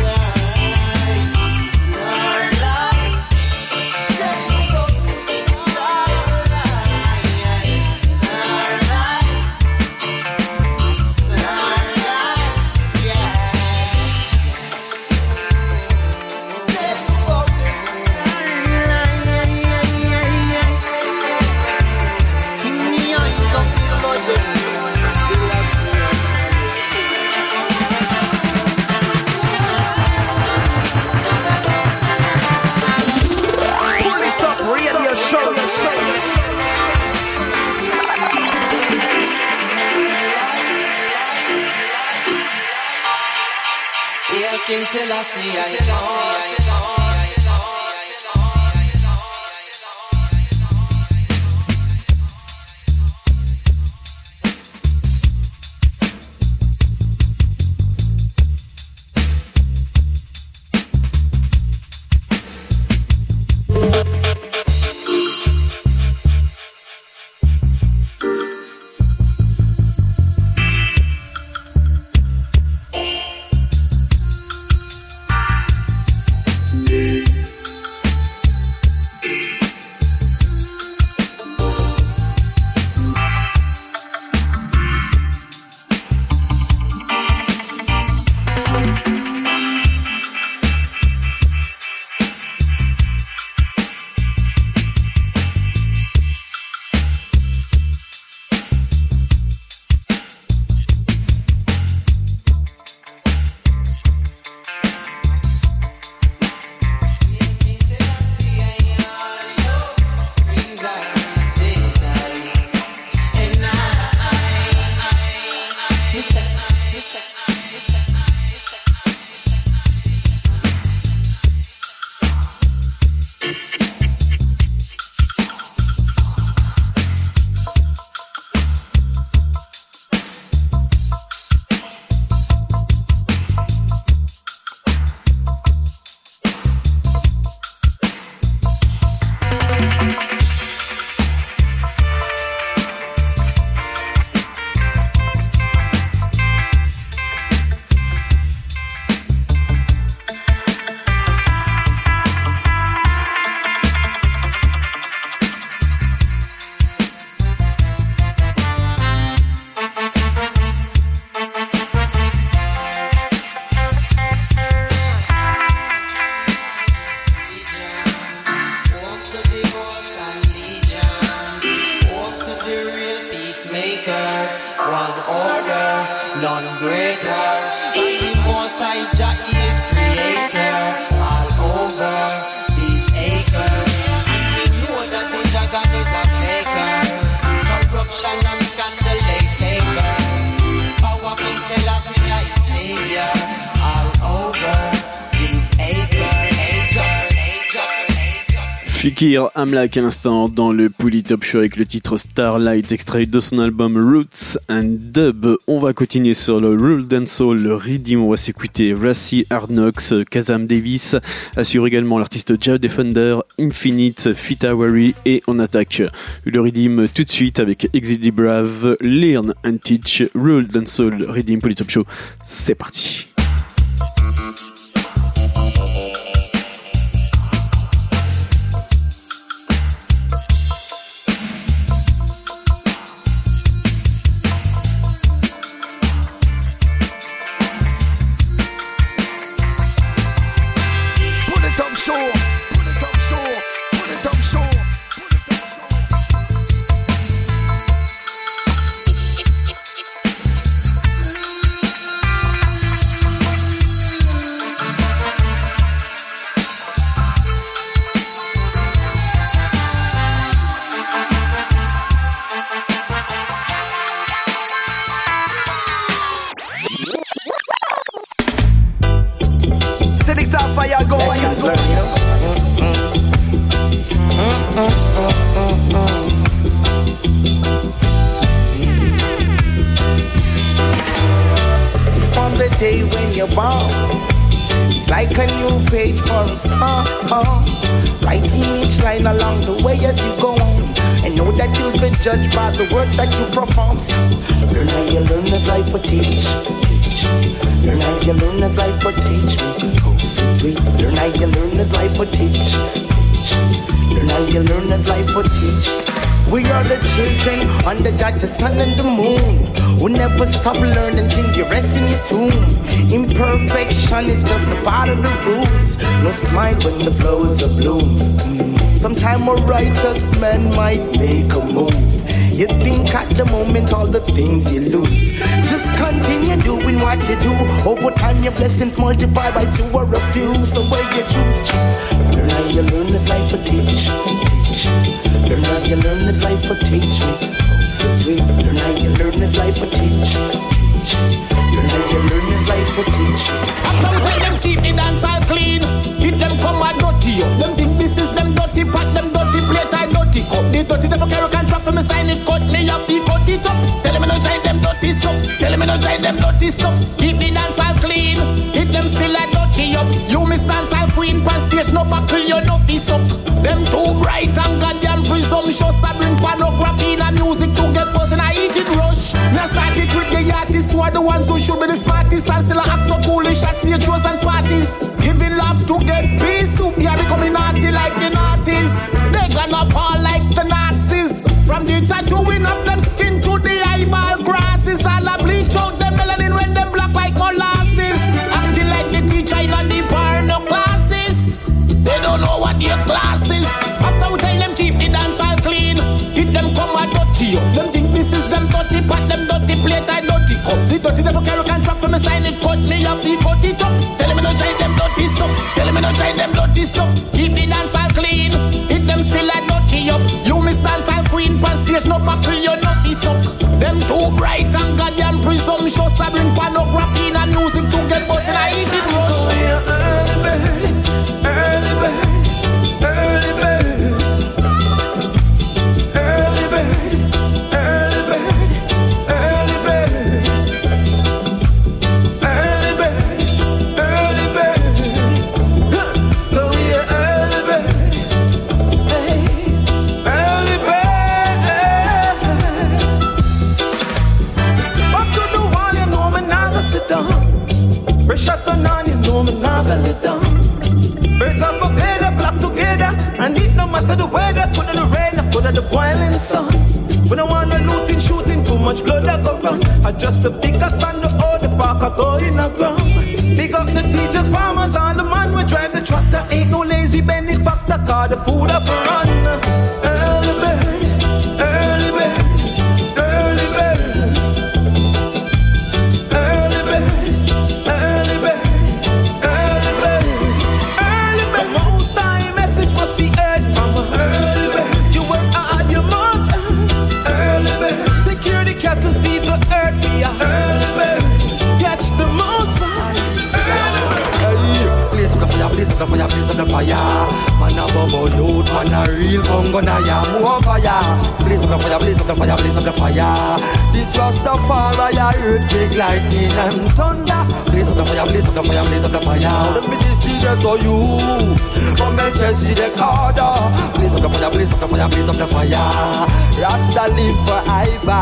King Selassie, I Fikir Amlak à l'instant dans le Pouli Top Show avec le titre Starlight, extrait de son album Roots and Dub. On va continuer sur le Rule Dancehall, le Rhythm. On va s'écouter Rassi Hardknocks, Kazam Davis, assure également l'artiste Jah Defender, Infinite, Fita Wari et on attaque le Rhythm tout de suite avec Exit Brave, Learn and Teach, Rule Dancehall, Rhythm Pouli Top Show. C'est parti. Judged by the words that you perform. So learn how you learn if life will teach, teach. Learn how you learn if life will teach me. Oh, free. Learn how you learn if life will teach, teach. Learn how you learn if life will teach. We are the children under the sun and the moon, who never stop learning till you rest in your tomb. Imperfection is just a part of the rules. No smile when the flowers are bloom. Sometime a righteous man might make a move. You think at the moment all the things you lose. Just continue doing what you do. Over time your blessings multiply by two or a few. So where you choose. Learn how you learn if life will teach, teach. Learn how you learn if life will teach me. For three. Learn how you learn if life will teach, teach. Learn how you learn if life will teach me. Sometimes them keep the dance all clean. If them come a dirty up, them think this is them dirty pot, them dirty plate, I dirty cup. The dirty type of carrot can drop me sign it, cut me up, he cut it up. Tell them I don't drive them dirty stuff. Tell them I don't drive them dirty stuff. Keep the dance all clean. If them still a dirty up, you miss dance all queen, pan station up, buckle you no piece up. Them too bright and goddamn presumptuous. I bring pornography and music to get buzz and I eat it rush. Now start it with the artists who are the ones who should be the smartest and still act so foolish at stage shows and parties. Giving love to get peace, they are becoming naughty like the Nazis. They gonna fall like the Nazis. From the tattooing of them skin to the eyeball grasses, all a bleach out them melanin when them black like molasses. Acting like the teacher in the porno classes. They don't know what their class is. After we tell them keep the dance all clean, if them come a dirty up, them think this is them dirty pot, them dirty plate, I dirty cup. The dirty devil carrot can drop me sign it, cut me up, he cut it up. Tell them I don't try them dirty stuff. Tell them I don't try them dirty stuff. Keep the dance all clean. If them still a dirty up, you miss dance all queen, pan station up, buckle you no piece up. Them too bright and goddamn presumptuous. I bring pornography and music to get buzz and I eat it rush. Early bird, early bird. Early bird, early bird, early bird, early bird, early bird, early bird. Go here, early bird, hey, early bird. Up to the wall, you know me now gonna sit down. Pressure turn on, you know me now gonna let down. Birds of a feather flock together, and it no matter the weather, could the rain, or could the boiling sun. We don't want no looting, shooting, too much blood that go run. I just the pickaxe and the old, the fuck I go in the ground. Big up the teachers, farmers, all the man we drive the tractor. Ain't no lazy benefactor, cause the food up for run. Early bird, early bird, early bird, early bird, early bird. Time message must be heard from early bird. You work hard, you must early bird. Take care of the cattle, feed the earth. Be a early bird. Catch the most fun. Early bird. Please come here, please blaze up the fire, blaze up the fire. Man a bubble youth, man a real bongo na ya. More fire, blaze up the fire, blaze up the fire, blaze up the fire. This Rastafari, earthquake, lightning and thunder. Blaze up the fire, blaze up the fire, blaze up the fire. Let me this leader to youth from Melchizedek order. Blaze up the fire, blaze up the fire, blaze up the fire. Rasta live forever.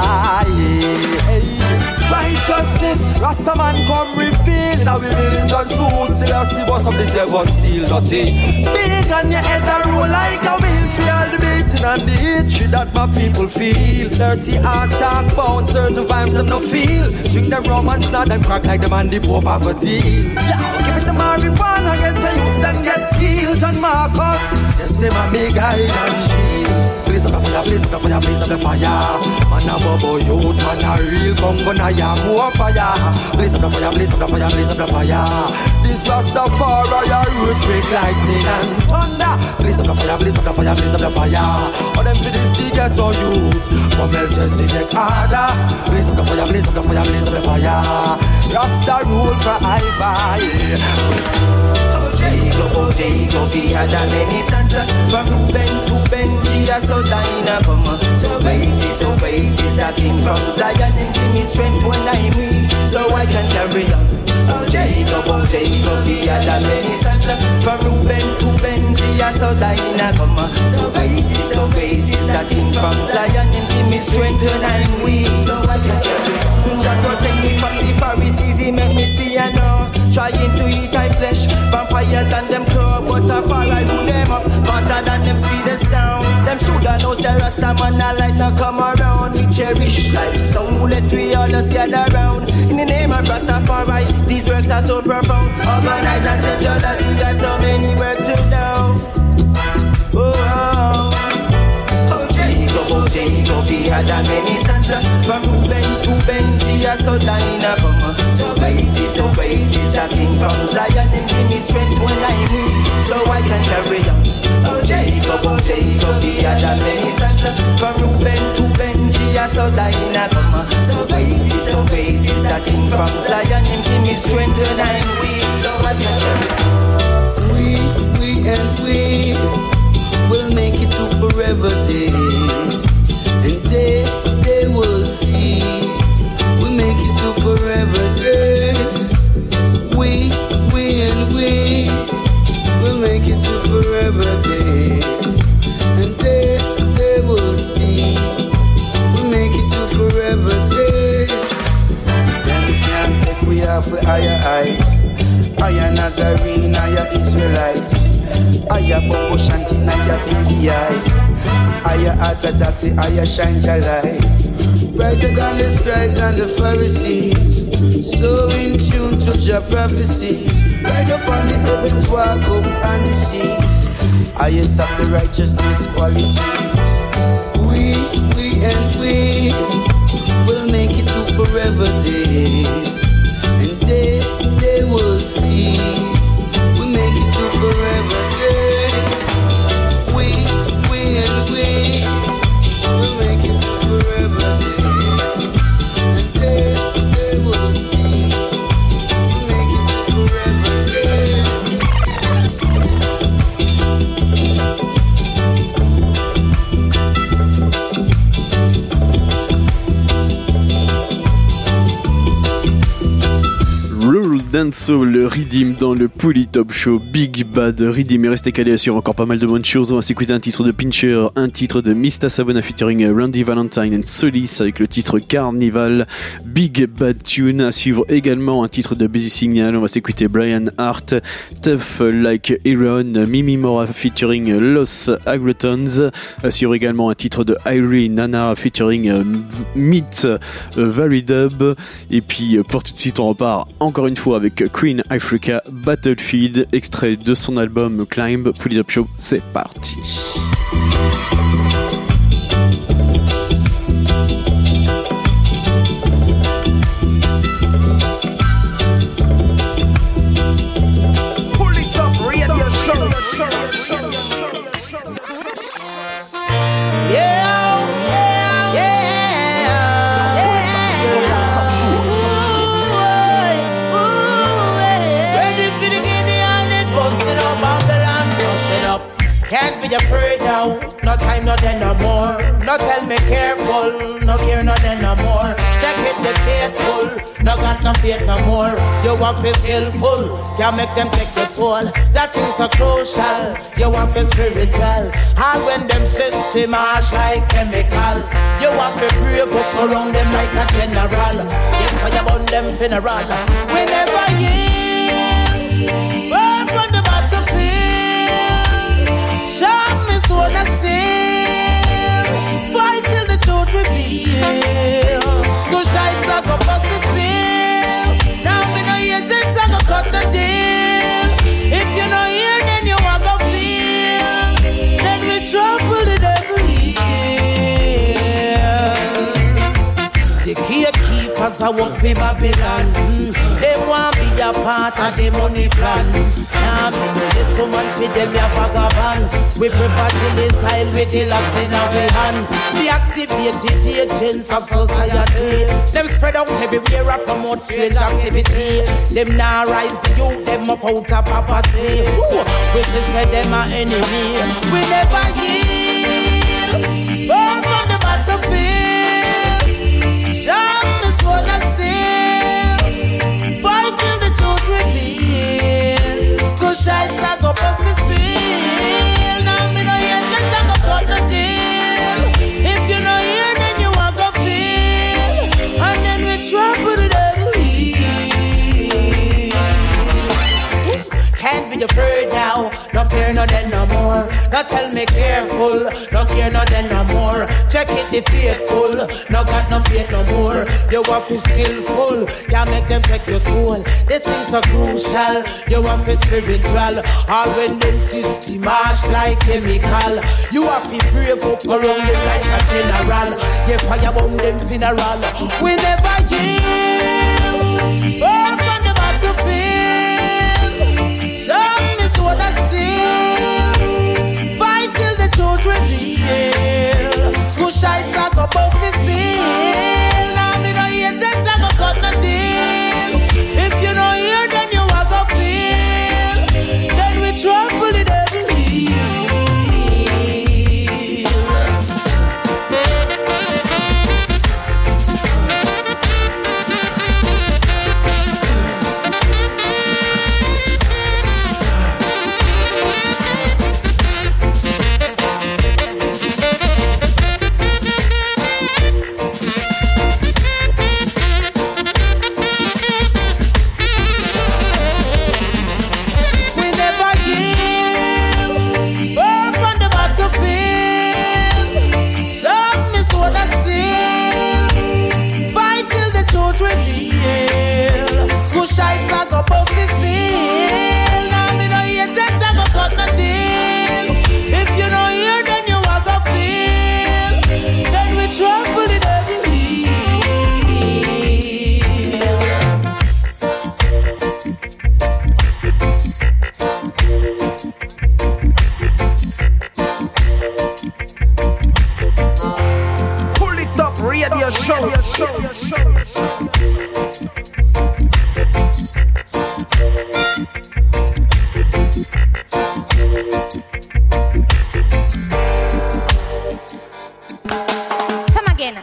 Righteousness, Rasta man come reveal. In a women's and suits, till I see boss of the seven seal dirty. Big on your head and roll like a wheel. Feel the beating and the hatred that my people feel. Dirty heart talk bound, certain vibes them no feel. Drink them rum and snot them crack like the man the Pope have a deal. Yeah, give it the marijuana, get the youths then get healed. John Marcus, you say my big guide and shield. Blaze up the fire, blaze up the fire, blaze up the fire. Man a bubble youth, man a real bongo na ya. More fire, blaze up the fire, blaze up the fire, blaze up the fire. This Rastafari, earthquake, lightning and thunder. Blaze up the fire, blaze up the fire, blaze up the fire. All them for this the ghetto youth from Melchizedek order. Blaze up the fire, blaze up the fire, blaze up the fire. Rasta rule forever, yeah. Jacob, oh Jacob, he had a many sons. From Reuben to Benji, so Dinah come. So weighty, so weighty, that king from Zion. Him give me strength when I'm weak, so I can carry on. Oh Jacob, oh Jacob, he had a many sons. From Reuben to Benji, so Dinah come. So weighty, so weighty, that king from Zion. Him give me strength when I'm weak, so I can carry on. Jah protect me from the Pharisees, he make me see and know. Trying to eat my flesh, vampires and them crow. But a far I do them up, faster than them sweetest sound. Them shoulda know say Rasta man a light no come around. We cherish life, so let we all just gather around. In the name of Rastafari, these works are so profound. Organized and centralized, we got so many work to do. Oh, oh. Oh Jacob, oh Jacob, he had a many sons. From Reuben to Benji, so Dinah come. So weighty, so weighty, that king from Zion. And give me strength when I'm weak, so I can carry on. Oh Jacob, oh Jacob, he had a many sons. From Reuben to Benji, so Dinah come. So weighty, so weighty, that king from Zion. And give me strength when I'm weak, so I can carry on. We, we and we will make it to forever days. And they, they will see. We make it to forever days. We, we and we will make it to forever days. And they, they will see. We make it to forever days. Then we can't take we off with higher eyes. Higher Nazarene, higher Israelites. Higher Bobo Shanti, higher Bingi eye. Higher orthodoxy, higher shine your light. Brighter than the scribes and the Pharisees. So in tune to your prophecies. Right up on the heavens, walk up on the seas. Highest of the righteousness qualities. We, we and we will make it to forever days. And they, they will see. We make it to forever days. We, we and we will make it to forever days. And they, they will see. We make it to forever days. Roll Dancehall, le Riddim dans le Polytop Show. Big Bad Riddim est resté calé sur encore pas mal de bonnes choses. On va s'écouter un titre de Pincher, un titre de Mista Savona featuring Randy Valentine and Solis avec le titre Carnival. Big Bad Tune. À suivre également un titre de Busy Signal. On va s'écouter Brian Hart, Tough Like Iron, Mimi Mora featuring Los Agrotons. À suivre également un titre de Irene Nana featuring uh, Meet uh, Varidub. Et puis pour tout de suite on repart encore une fois avec Queen Africa Battlefield, extrait de son album Climb. Polytop Show, c'est parti. Ready for the Gideon, it busted up now, no time no then no more. No tell me careful, no care no then no more. Check it the faithful, no got no faith no more. You want to skillful, can't make them take your soul. That thing's so crucial, you want to spiritual. And when them system harsh like chemical, you want to brave up around them like a general. Yes, fire burn them funeral. We never yield, burn from the battlefield. Show me so I seal, fight till the truth reveal. Cause shites are go bust the seal. Now me no hear just I go cut the deal. If you no hear then you walk go feel. Then we trouble the devil here. The gatekeepers are work for Babylon. Mm. They want be a part of the money plan. Now me know there's someone for them a vagabond. We prefer to decide with the last in our hand. The activated agents of society. Them spread out everywhere and promote strange activity. Them now rise the youth, them up out of poverty. Ooh, we say them are enemy. We never yield. Burn on the battlefield. Shout me sword I seal. Fight till the truth reveal. Cause shites I go bust the seal. Now me no hear just I go cut the deal. If you no hear then you walk go feel. And then we trouble the devil. Can't be afraid now, no fear no then no more. No tell me careful, no care no then no more. Check it the faithful, no got no faith no more. You want to skillful, can't make them take your soul. These things are crucial, you want to spiritual. All when them system harsh like chemical. You have to brave up around them like a general. You fire bomb them funeral. We never yield, burn from the battlefield. Show me sword I seal, fight till the truth reveal. Good shites I go bust the seal. Now me no hear just I go cut the deal. If you no hear then you a go feel. Then we trouble the devil. Shites I go bust the seal. Now me no hear just I go cut the deal. If you no hear then you a go feel. Then we trouble the devil. Pull it up, radio show. Come again.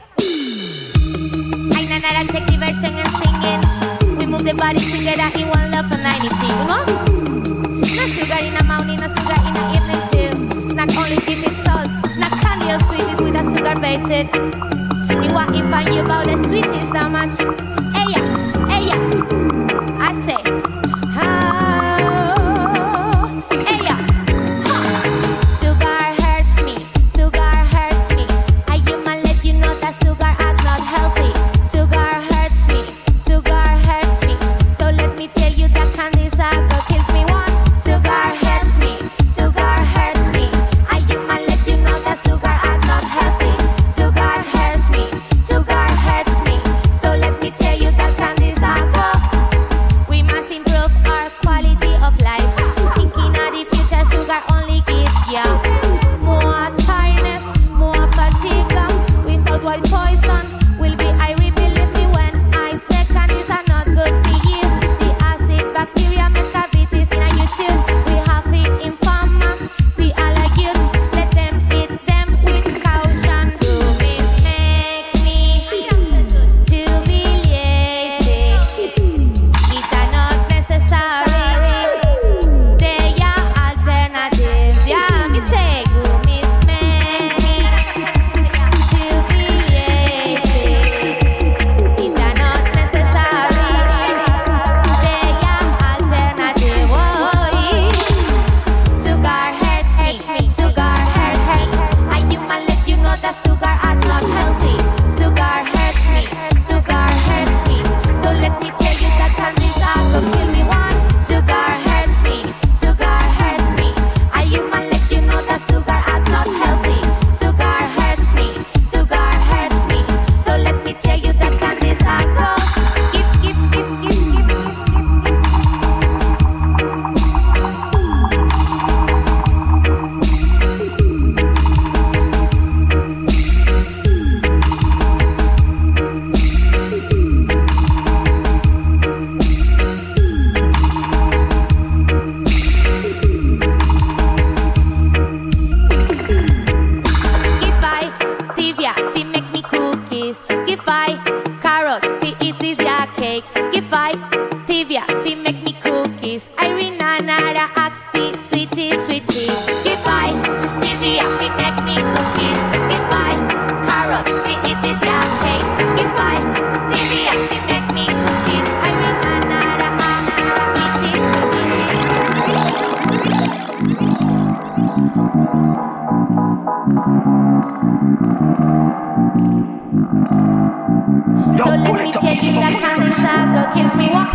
I know that I take the version and singing. We move the body together in one love for ninety. Come on. No sugar in the morning, no sugar in the evening too. It's not only giving salt, not candy or sweeties with a sugar base. Me want to find you about the sweetest that much. Hey yeah, hey yeah. I say, ah, hey yeah. Sugar hurts me, sugar hurts me. I human let you know that sugar is not healthy. Sugar hurts me, sugar hurts me. So let me tell you that candy sugar kills me. One, sugar hurts me, sugar hurts me. I human let you know that sugar is not healthy. Sugar hurts me, sugar hurts me. So let me tell you that candy Irina, Nara, Oxford, sweetie, sweetie. Goodbye, Stevie, happy make me cookies. Goodbye, carrots, we eat this yam cake. Goodbye, Stevie, happy make me cookies. Irina, Nara, sweetie, sweetie. So let me tell you that Candy Sago kills me. What?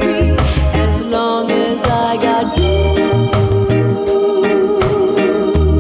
As long as I got you.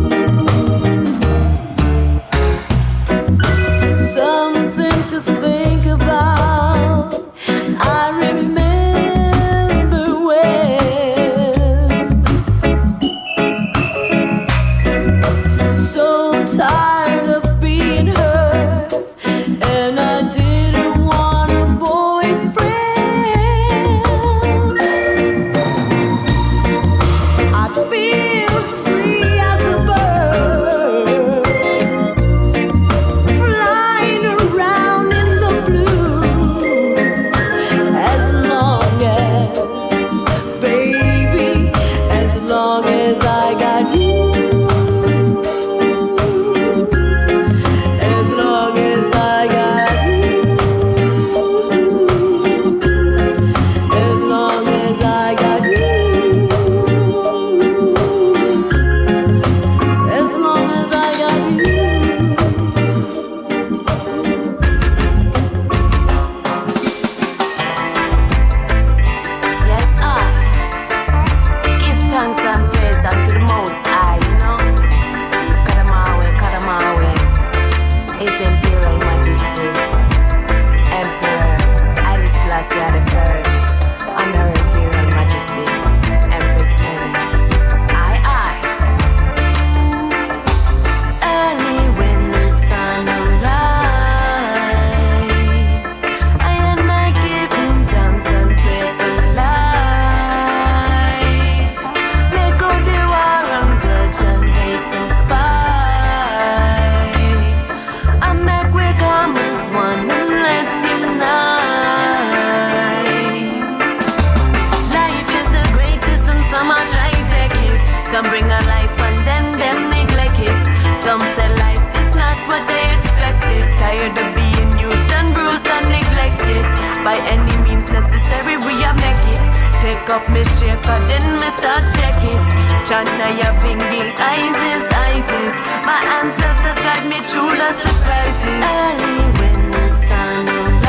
cause then me start checking. China, ya pingy, Isis, Isis. My ancestors guide me through the surprises. Early when the sun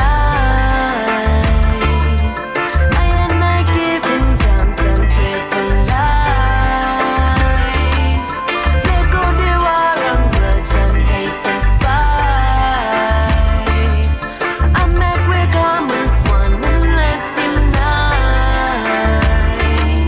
rises, I am not giving thanks and praise for life. Let go the war and grudge and hate and spite. I make we come as one and let's unite.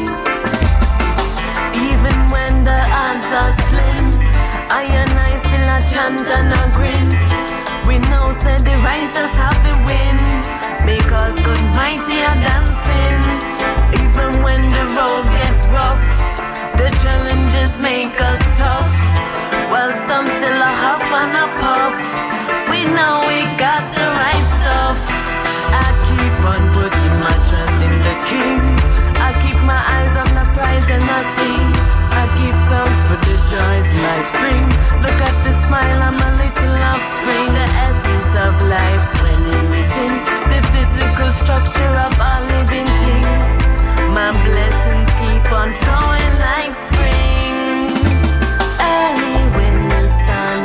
Even when the odds are slim, I and I still a chant and a grin. We know said the righteous have to win, because good mighty are dancing. Even when the road gets rough, the challenges make us tough. While some still a huff and a puff, we know we got the right stuff. I keep on putting my trust in the King. I keep my eyes on the prize and I sing. I give thanks for the joys life bring. Look at the smile, I'm a little offspring. The essence of life dwelling within the physical structure of all living things. My blessings keep on flowing like spring. Early when the sun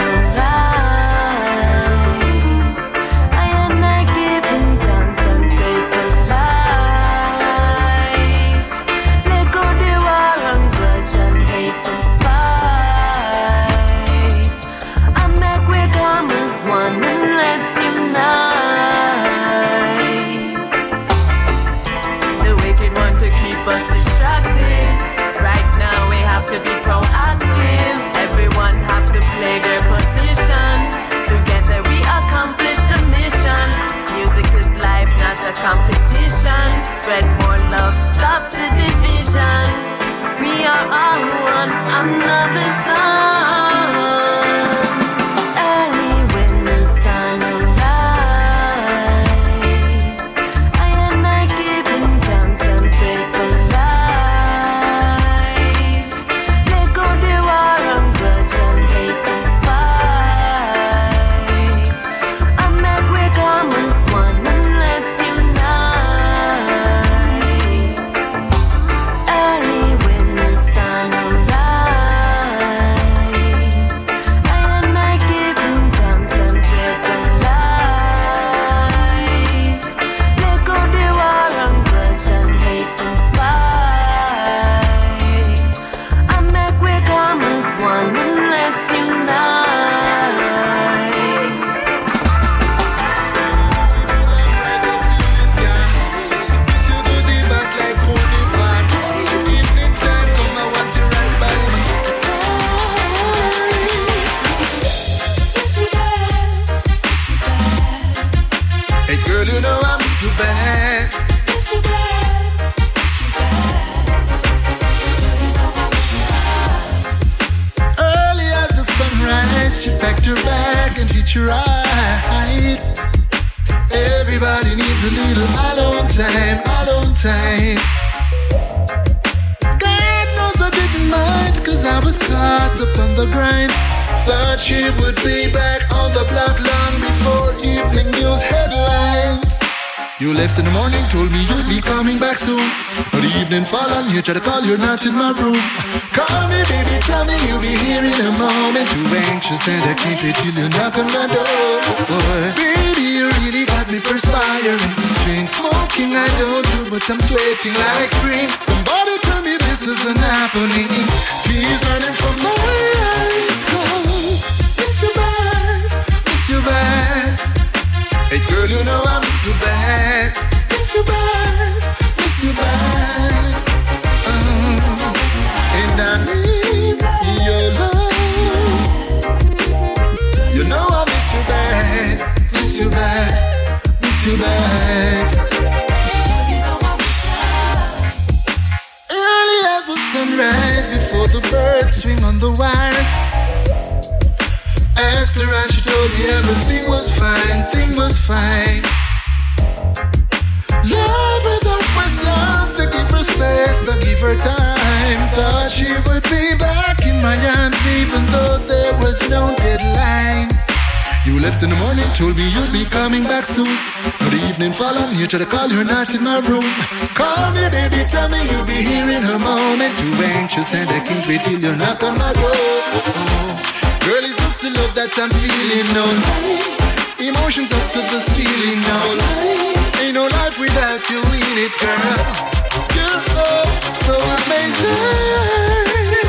rises, I am not giving thanks and praise for life. Let go the war and grudge and hate and spite. I make we come as one and let's unite. The wicked want to keep us distracted. Right now we have to be proactive. Everyone have to play their position. Together we accomplish the mission. Music is life, not a competition. Spread more love, stop the division. We are all one another son. Early when the sun rises, I am not giving thanks and praise for life. Let go the war and grudge and hate and spite. I make we come as one and let's unite. Early when the sun rises, I am not giving thanks and praise for life. Let go the war and grudge and hate and spite. I make we come as one and let's unite. Hey girl, you know I miss you bad. Miss you bad. Miss you bad. Early as the sunrise, she packed her bag and hitched her ride. Everybody needs a little alone time, alone time. God knows I didn't mind, cause I was caught up on the grind. Thought she would be back on the block long before evening news headlines. You left in the morning, told me you'd be coming back soon. But the evening fall on you, try to call, you're not in my room. Call me, baby, tell me you'll be here in a moment. Too anxious and I can't wait till you knock on my door. Boy, baby, you really got me perspiring. Strange smoking I don't do, but I'm sweating like spring. Somebody tell me this isn't happening. Tears running from my eyes. Miss you bad, miss you bad. Hey girl, you know I miss you bad. Miss you bad, miss you bad. Uh, and I need your love. You know I miss you bad, miss you bad, miss you bad. Early as the sunrise, before the birds swing on the wires. Asked her and she told me everything was fine, thing was fine. Love without questions, I give her space, I give her time. Thought she would be back in my arms even though there was no deadline. You left in the morning, told me you'd be coming back soon. Now the evening fall on you, try to call, you're not in my room. Call me, baby, tell me you'll be here in a moment. Too anxious and I can't wait till you knock on my door. Girl, it's just the love that I'm feeling now. Emotions up to the ceiling now. Ain't no life without you in it, girl. You're oh, so amazing.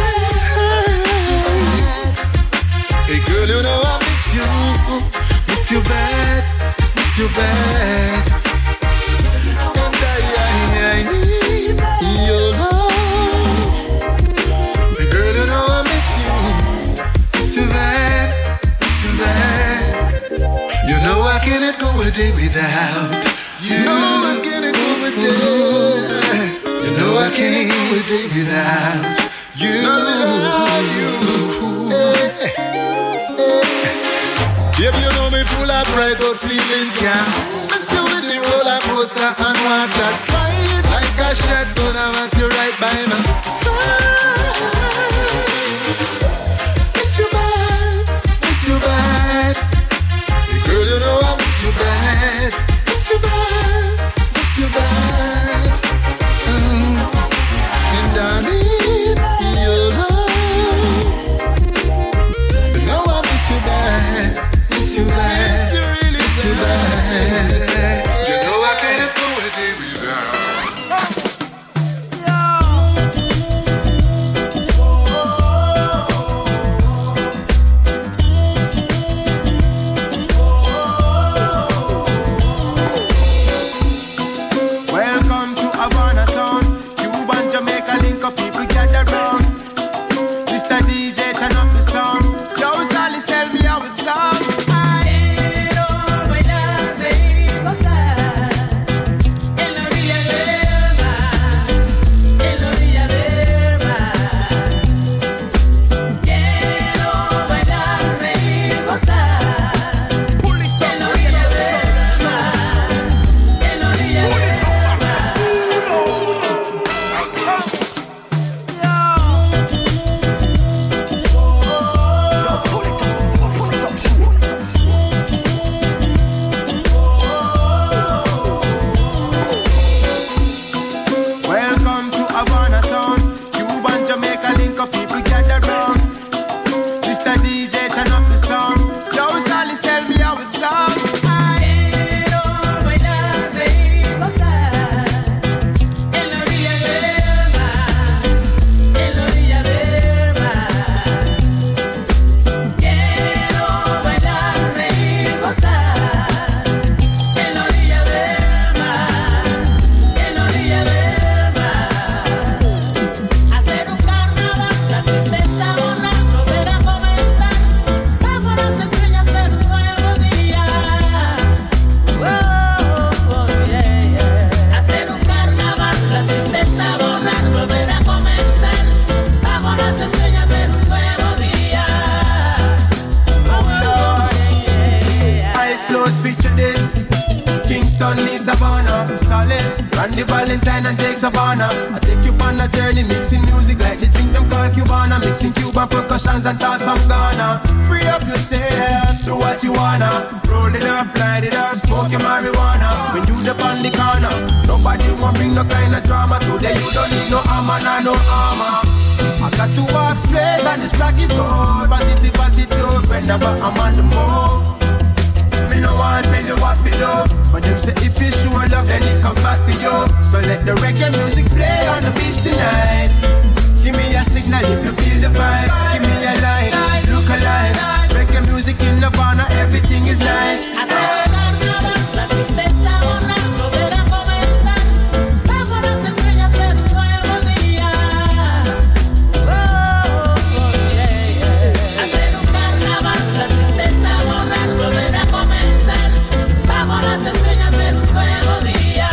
Hey girl, you know I miss you, miss you bad, miss you bad. And I, I, I need your love. Hey girl, you know I miss you, miss you bad, miss you bad. You know I cannot go a day without you. You know I cannot go a day. You know I can't go a day without you. Without you. Baby, you know me full of pride but feelings, yeah. Miss you with the roller coaster and water slide. Like a shotgun, I want you right by my side. Miss you bad, miss you bad. Hey girl, you know I miss you bad. Miss you bad, miss you bad. Mm. And I need your love. You know I miss you bad. It's too bad, you really it's too bad. bad. You know I can't go a day without. Welcome to Havana town. Cuba and Jamaica link up, people gather round. Mister D J, turn up the sound. Yo, Sally, tell me how it sounds. Randy Valentine and Jake Savannah. I take you on a journey, mixing music like the drink them call Cubana. Mixing Cuban percussions and thoughts from Ghana. Free up yourself, do what you wanna. Roll it up, light it up, smoke your marijuana. When you the on the corner, nobody won't bring no kind of drama. Today you don't need no armor, nah, no armor. I got to walk straight on this rocky road. Positive attitude, whenever I'm on the move. Me no want tell you what to do, but them say if you show love, then it comes back to you. So let the reggae music play on the beach tonight. Give me a signal if you feel the vibe. Give me a line, look alive. Reggae music in Nirvana, everything is nice. I say, la tristeza borrar, volver a comenzar. Bajo las estrellas ver un nuevo día. Oh, oh, yeah, yeah. Hacer un carnaval, la tristeza borrar, volver a comenzar. Bajo las estrellas ver un nuevo día.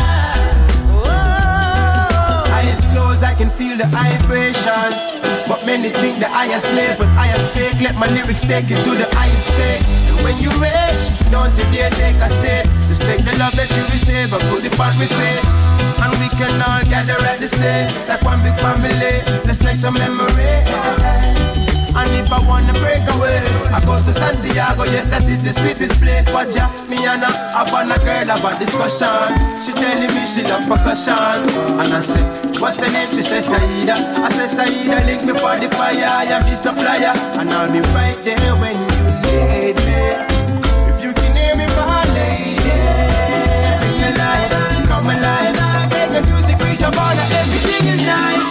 Oh, eyes closed, I can feel the vibrations. But many think that I am slave, but I am speak. Let my lyrics take you to the highest peak. And when you reach, don't you dare take a seat. Just take the love that you receive and put it on with faith. And we can all gather at the same, like one big family. Let's make some memory. And if I wanna break away, I go to Santiago. Yes, that is the sweetest place. But yeah, me and I have on a girl about discussion. She's telling me she love percussion. And I said, what's her name? She says Saida. I said Saida, link me for the fire. I am the supplier, and I'll be right there when you need me. If you can hear me, my lady, bring your life, come alive. Make the music reach your border, everything is nice.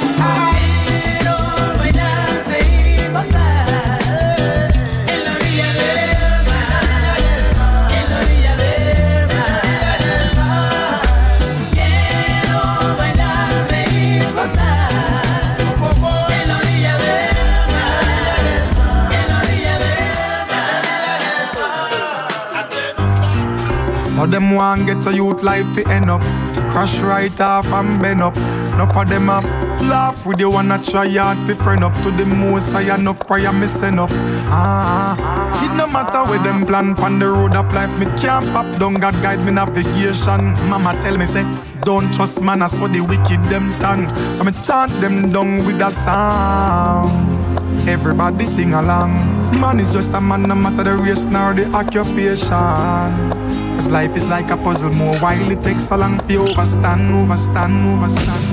So them want get a youth life fi end up. Crash right off and bend up. Enough of them up. Laugh with you wanna try hard fi friend up. To the most I enough prayer me send up. Ah, it no matter where them plan pan the road of life. Me can't pop down, God guide me navigation. Mama tell me say, don't trust man, I saw the wicked them tongue. So me chant them down with a song. Everybody sing along. Man is just a man, no matter the race nor the occupation. Cause life is like a puzzle, more while it takes so long to overstand, overstand, overstand.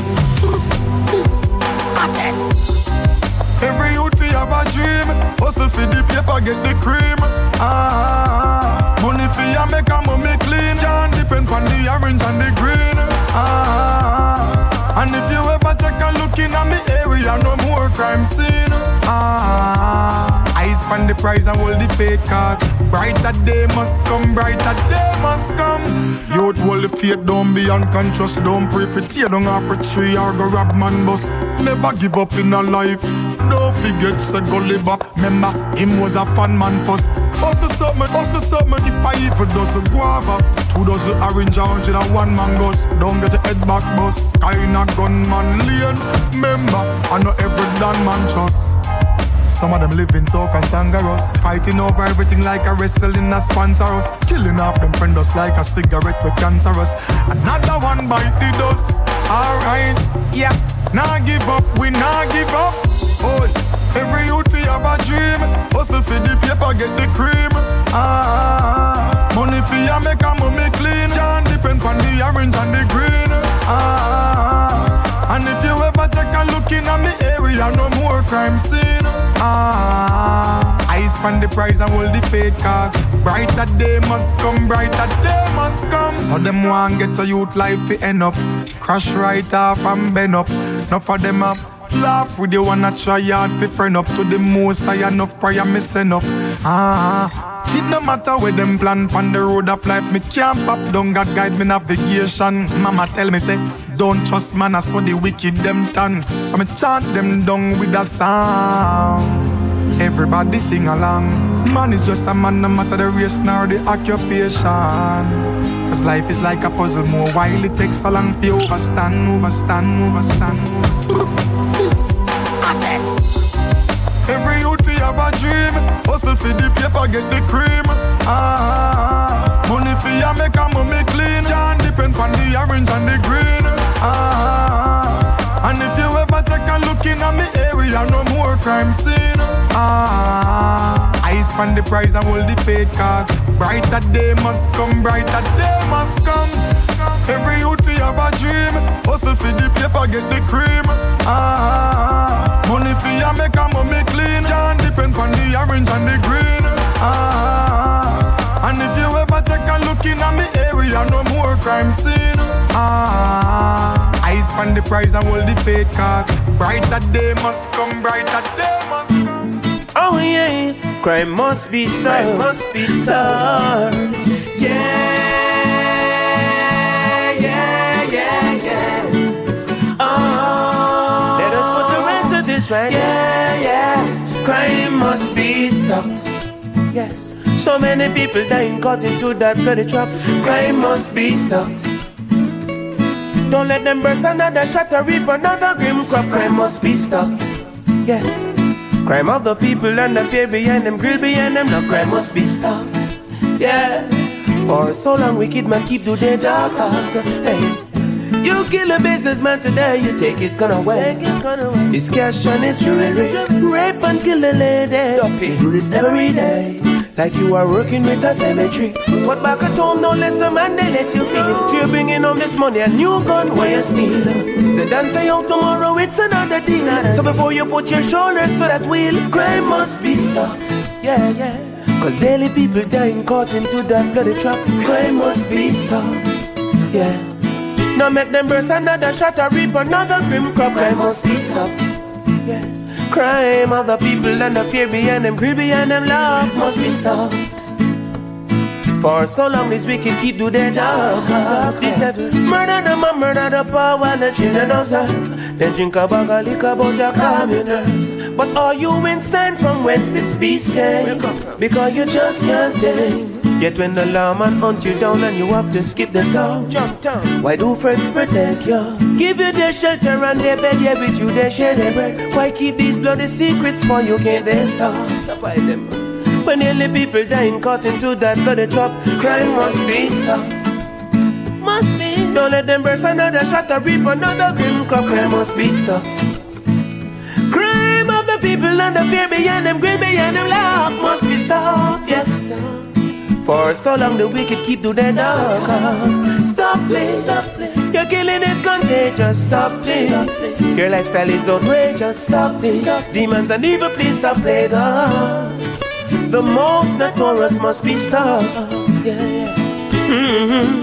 Every youth fi have a dream. Hustle fi the paper, get the cream. Ah, money fi ya make a mommy clean. Can't depend on the orange and the green. Ah, and if you ever take a look in at me area, no more crime scene. Ah, eyes on the prize and hold the faith cause brighter day must come, brighter day must come. Youth hold the faith, don't be unconscious. Don't pray for tear down off a tree or go rob man bus. Never give up in a life. Don't forget say Gulliver. Remember him was a fun man first. Bust the something, bust the something. If I even does a guava, two dozen orange, a hundred and one mangoes. Don't get your head back bus. Kinda gunman lane. Remember I know every damn man trust. Some of them living so cantankerous, fighting over everything like a wrestling a sponsor us. Killing off them friend us like a cigarette with cancerous. Another one bite the dust. Alright, yeah. Nah give up, we nah give up. Oh, every youth fi have a dream. Hustle fi the paper, get the cream. Ah, money fi ya make a mommy clean. Can't depend on the orange and the green. Ah, and if you ever take a look in at me area, no more crime scene. Ah, eyes on the prize and hold the faith cause brighter day must come, brighter day must come. So them want get a youth life fi end up. Crash right off and bend up. Enough of them up. Laugh with you wanna try hard fi friend up. To the most I enough prayer me send up. Ah, it no matter where them plan pan the road of life. Me can't pop down, God guide me navigation. Mama tell me say, don't trust man, I saw the wicked them tongue. So me chant them down with a song. Everybody sing along. Man is just a man, no matter the race nor the occupation. Cause life is like a puzzle, more while it takes so long to overstand, overstand, overstand, overstand. Every youth fi have a dream. Hustle fi the paper, get the cream. Ah, money fi ya make a mommy clean. Can't depend on the orange and the green. Ah, and if you ever take a look in at me area, no more crime scene. Ah, eyes on the prize and hold the faith cause brighter day must come, brighter day must come. Every youth fi have a dream. Hustle fi the paper, get the cream. Ah, money fi ya make a mommy clean. Can't depend on the orange and the green. Ah, and if you ever take a look in at me area, no more crime scene. Ah, eyes on the prize and hold the faith cause brighter day must come, brighter day must come. Oh yeah, crime must be stopped, crime must be stopped. Yeah, yeah, yeah, yeah. Oh, let us put the rest of this right. Yeah, yeah, crime must be stopped. Yes, so many people dying caught into that bloody trap. Crime must be stopped. Don't let them burst another shot or reap another grim crop. Crime must be stopped. Yes. Crime of the people and the fear behind them, grill behind them. No crime must be stopped. Yeah. For so long wicked man keep do their dark cause. Hey. You kill a businessman today, you take his gun away. His cash and his jewelry. Rape and kill a lady. You do this every day, like you are working with a cemetery. But back at home, don't let some man, they let you feel. You're bringing home this money, a new gun, where you steal. The dance say out tomorrow, it's another deal. So before you put your shoulders to that wheel, crime must be stopped. Yeah, yeah. Cause daily people dying caught into that bloody trap. Crime must be stopped. Yeah. Now make them burst another shot or reap another grim crop. Crime must be stopped. Yes. Crime of the people and the fear behind them, greed behind them, love must be stopped. For so long these wicked keep do their talk. These devils murder them and murder the poor while the children observe. Then drink a bag of liquor about your calm your nerves. But are you insane from whence this peace came? Because you just can't think. Yet when the lawman hunt you down and you have to skip the town, jump down. Why do friends protect you? Give you their shelter and their bed, yeah, with you they share their bread. Why keep these bloody secrets for you? Can't they stop? When nearly people dying caught into that bloody trap, crime must be stopped. Must be. Don't let them burst another shot or reap another grim crop. Crime must be stopped. Crime of the people and the fear behind them, greed behind them, love must be stopped. Yes, be stopped. For so long the wicked keep to their dark cause. Stop please, stop please. Your killing is contagious, stop please. Your lifestyle is outrageous, stop please. Demons and evil, please stop playing us. The most notorious must be stopped. Yeah, yeah. Mm-hmm,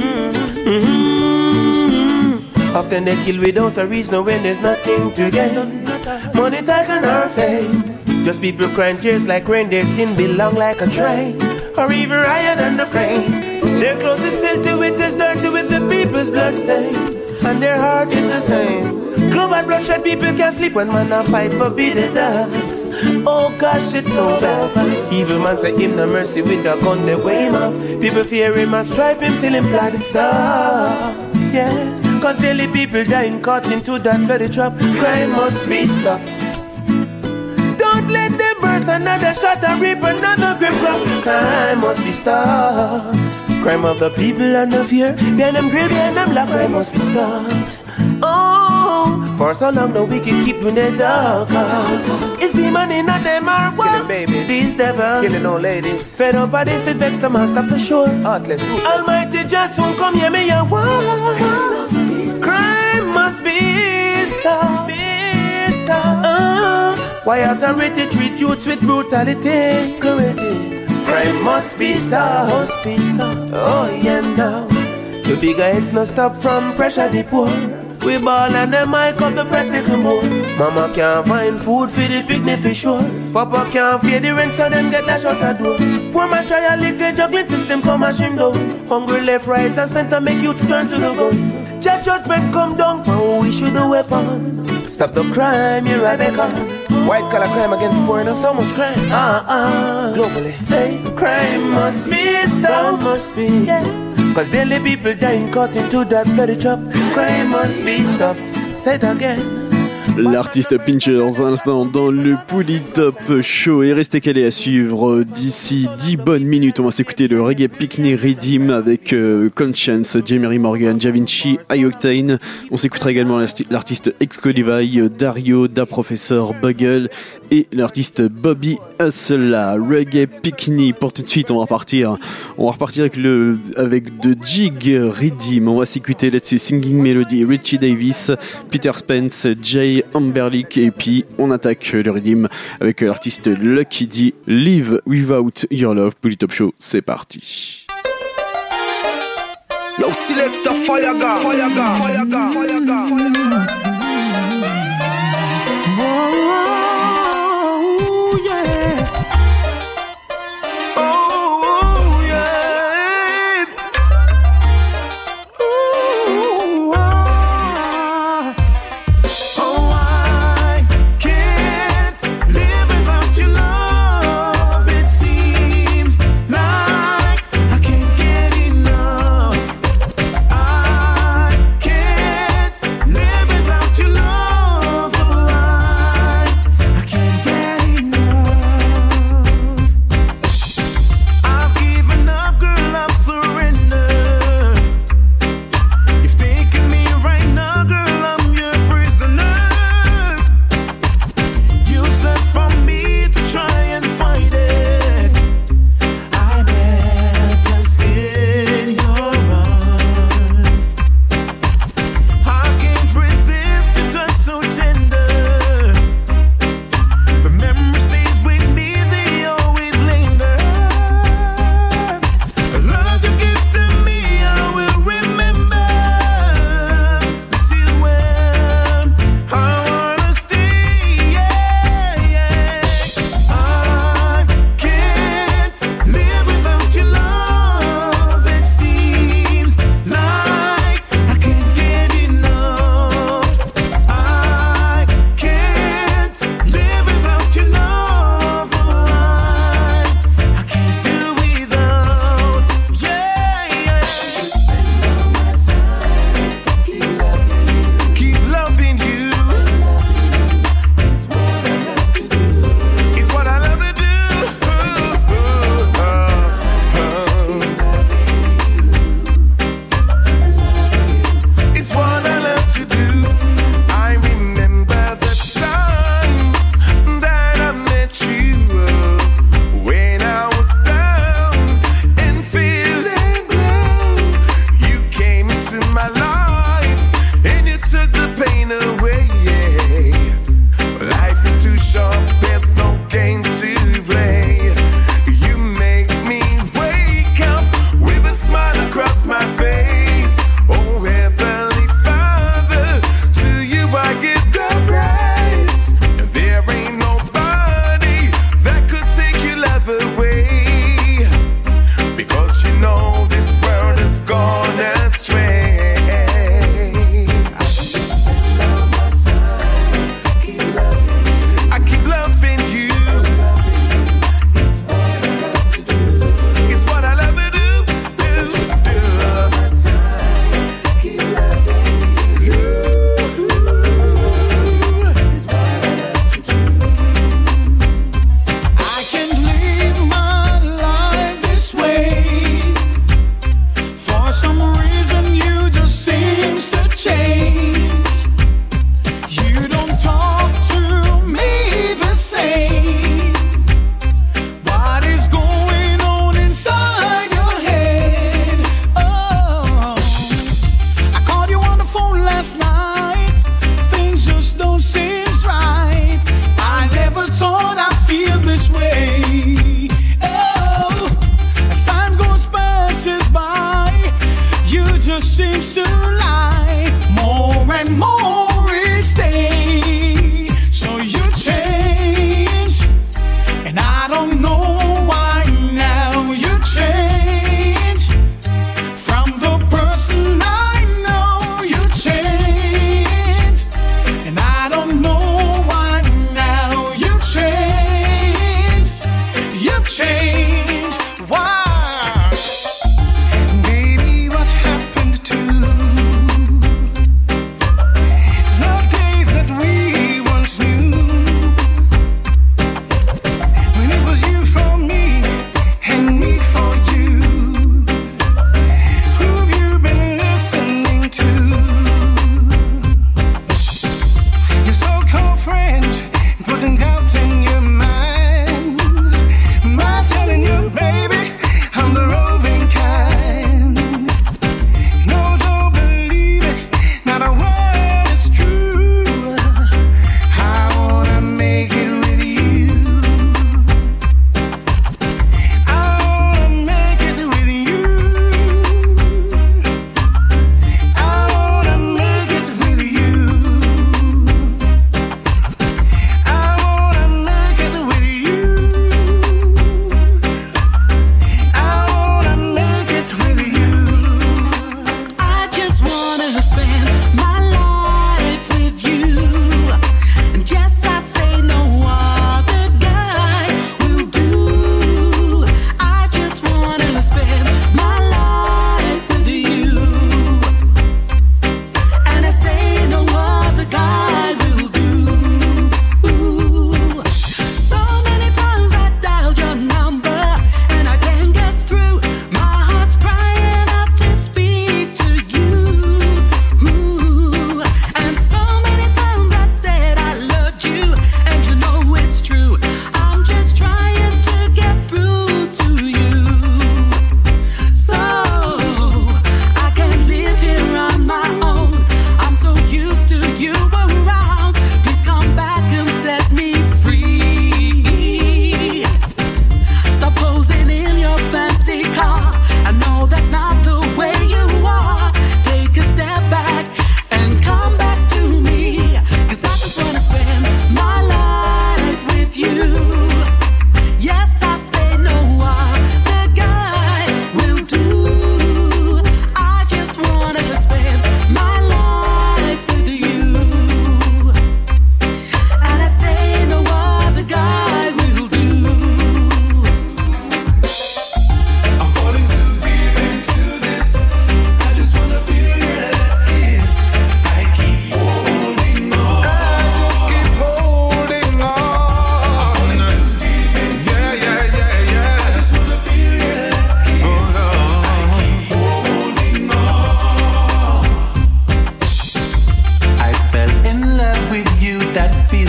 mm-hmm. Often they kill without a reason when there's nothing to gain. Money, title, or fame. Just people crying tears like rain. Their sin belong like a train, or even higher than the crane. Their clothes is filthy with this dirty with the people's blood stain. And their heart is the same. Global bloodshed, people can't sleep when man a fight for beating dance. Oh gosh, it's so bad. Evil man say him no mercy with a gun they weigh him off. People fear him and stripe him till him blood stop. Yes, cause daily people dying caught into that bloody trap. Crime must be stopped. Don't let them burst another shot and reap another grim crop. Crime must be stopped. Crime of the people and the fear behind them greed behind them love. Crime must be stopped. Oh, for so long the wicked keep doing their dark cause. It's the money not them are what? Killing babies, these devils, killing old ladies. Fed up by this, it vex the master for sure. Heartless, ruthless. Almighty just won't come hear me and what? Crime must be stopped. Uh, why authority treat youths with brutality? Correctly. Crime must be stopped. Must be stopped. Oh yeah now. The bigger heads no stop from pressure the poor. We ball and them mic up the press little more. Mama can't find food for the picnic for sure. Papa can't pay the rent so them get that shut a door. Poor man try a little juggling system come and shim down. Hungry left, right and center make youths turn to the gun. Judge judgment come down, oh we should the weapon. Stop the crime, you're right back on. White collar crime against poor, and so much crime. Ah, uh, uh, globally. Hey, crime must be stopped. Must be, yeah. Cause daily people dying caught into that bloody trap. Crime must be stopped. Say it again. L'artiste Pinchers, à l'instant dans le Polytop Show. Et restez calés à suivre d'ici dix bonnes minutes. On va s'écouter le Reggae Picnic Redeem avec euh, Conscience, Jemery Morgan, Javinci, Ioctane. On s'écoutera également l'artiste Excalibur, Dario, Da Professor, Bugle et l'artiste Bobby Hustla. Reggae Picnic pour tout de suite. On va repartir. On va repartir avec le avec The Jig Redeem. On va s'écouter là-dessus Singing Melody, Richie Davis, Peter Spence, Jay Amberlick, et puis on attaque le Redeem avec l'artiste Lucky D, Live Without Your Love. Polytop Show, c'est parti. Yo, selector, fire gun, fire gun, fire gun, fire gun, fire gun. Oh, yeah. Oh, yeah. Ooh, ah. Oh, I can't live without your love. It seems like I can't get enough. I can't live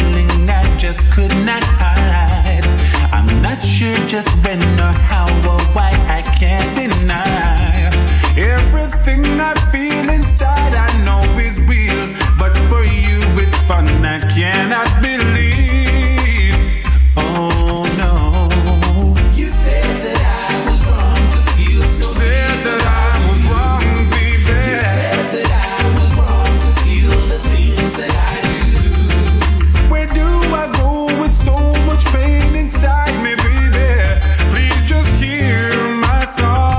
feeling I just could not hide. I'm not sure just when or how or why, I can't deny. Everything I feel inside I know is real, but for you it's fun I cannot believe. Oh no. You said that I was wrong to feel so deep. Said that I was wrong, baby. You said that I was wrong to feel the things that I do. Where do I go with so much pain inside me, baby? Please just hear my song.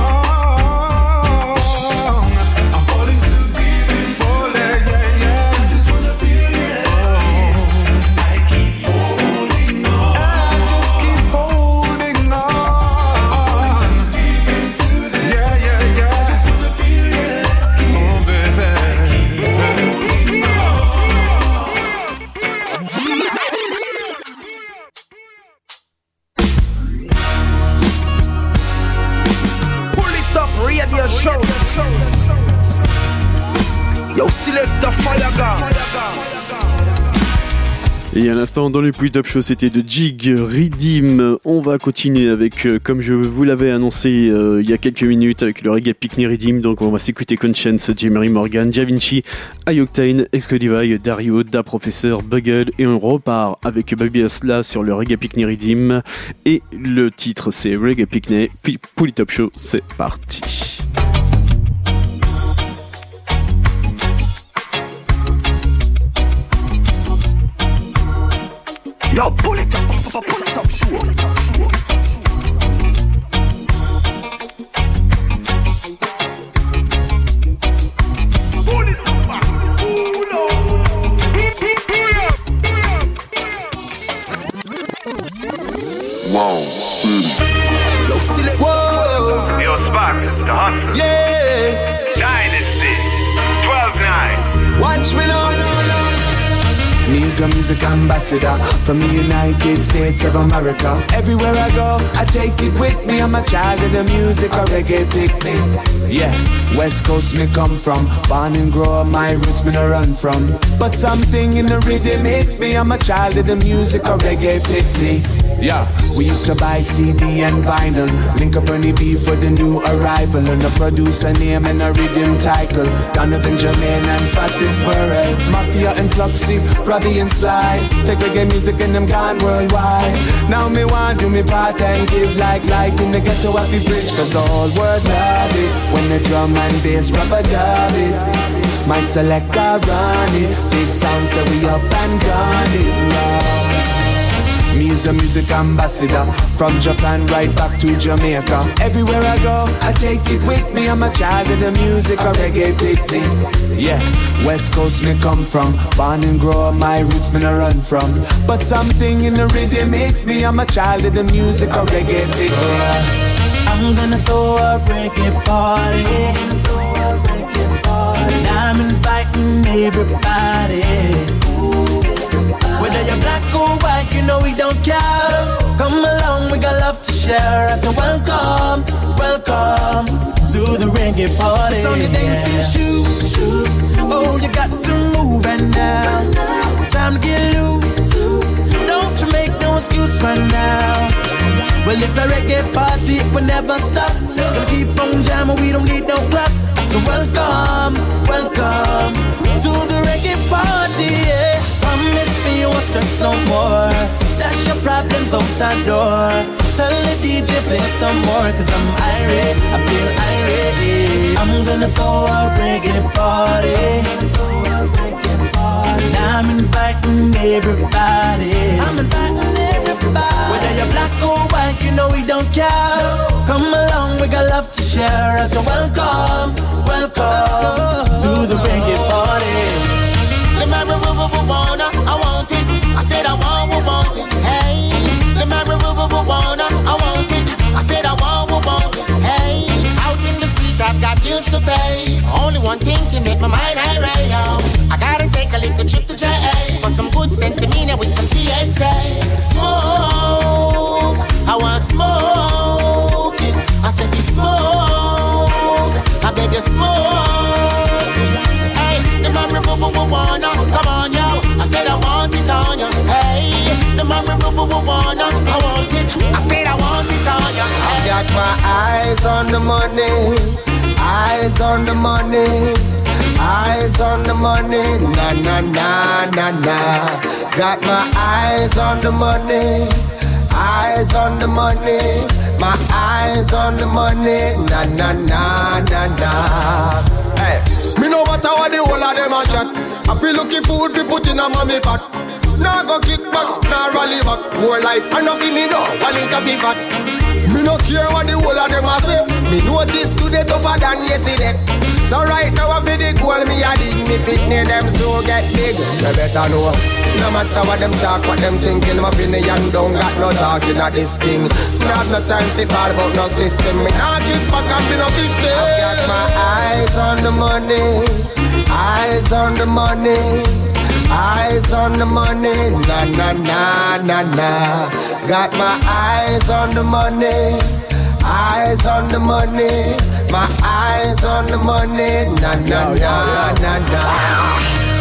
I'm falling too deep into Falling, this. yeah, yeah. I just wanna feel your skin. I keep holding on. I just keep holding on. I'm falling too deep into this. Yeah, yeah, yeah. I just wanna feel your skin. Oh, baby. Holding on. Pull it up, radio show. Yo, selector fire gun. Et à l'instant, dans le Pull Top Show, c'était de Jig Redeem. On va continuer avec, euh, comme je vous l'avais annoncé euh, il y a quelques minutes, avec le reggae Pickney Redeem. Donc on va s'écouter Conscience, Jemery Morgan, Javinci, Ioctane, Excodivide, Dario, Da Professor, Bugged. Et on repart avec Baby Asla sur le reggae Pickney Redeem. Et le titre, c'est Reggae Pickney. Puis Pull Top Show, c'est parti. Yo, pull it up, pull it up, pull it up, show. Pull it up, pull Wow, city. Yo, select. Whoa, Yo, Spark, the hustler. yeah. Dynasty. twelve nine. Watch me now. Me's a music ambassador from the United States of America. Everywhere I go, I take it with me. I'm a child of the music, a reggae picnic. Yeah, West Coast me come from. Born and grow up, my roots me no run from. But something in the rhythm hit me. I'm a child of the music, a reggae picnic. Yeah, we used to buy C D and vinyl. Link up Ernie B for the new arrival. And a producer name and a rhythm title. Donovan Jermaine and Fatis Burrell. Mafia and Fluxy, Robbie and Sly. Take reggae music and them gone worldwide. Now me want do me part and give like light in the ghetto happy bridge. Cause the whole world love it. When the drum and bass rubber dub it. My selector run it. Big sound say we up and gone it. Love. Me's a music ambassador from Japan right back to Jamaica. Everywhere I go, I take it with me. I'm a child of the music, a reggae picnic. Yeah, West Coast me come from. Born and grow up, my roots me no run from. But something in the rhythm hit me. I'm a child of the music, a reggae picnic. I'm gonna throw a reggae party. And I'm inviting everybody. Whether you're black or white, you know we don't care. Come along, we got love to share. I say welcome, welcome to the reggae party. It's on your dancing shoes. Oh, you got to move right now. Time to get loose. Don't you make no excuse right now. Well, it's a reggae party, it will never stop. Gonna keep on jamming, we don't need no clock. So welcome, welcome to the reggae party, yeah. Promise me you won't stress no more. Dash your problems out that door. Tell the D J play some more. Cause I'm irate, I feel irate. I'm gonna throw a reggae party. And I'm inviting everybody. I'm inviting everybody. Whether you're black or white, you know we don't care. Come along, we got love to share. So welcome, welcome to the reggae party. The marijuana, I want it. I said I want, we want it. Hey, the marijuana, I want it. I said I want, we want it. Hey, out in the street, I've got bills to pay. Only one thing can make my mind irate. I gotta take a little trip to J A for some good sensimina with some T H C. Smoke, I want smoke it. I said you smoke, I beg you smoke it. Hey, the marijuana, come on yo. I said I want it on you. wanna, I want it. I said I want it on ya. I got my eyes on the money, eyes on the money, eyes on the money, na na na na na. Got my eyes on the money, eyes on the money, my eyes on the money, na na na na na. Hey, me no matter what the whole of them a chat. I feel looking food fi put in a mommy pot. Nah go kick back, nah rally back. More life, and nothing me know, while it a fi fat. Me no care what the whole of them a say. Me notice today tougher than yesterday. So right now I feel the goal me a dig. Me pitney them so get big. You better know. No matter what them talk, what them thinking. My opinion don't got no talking at this thing. Me have no time to call about no system. Me nah kick back and be no victim. I got my eyes on the money, eyes on the money, eyes on the money, na na na na na. Got my eyes on the money, eyes on the money, my eyes on the money, na na na na na.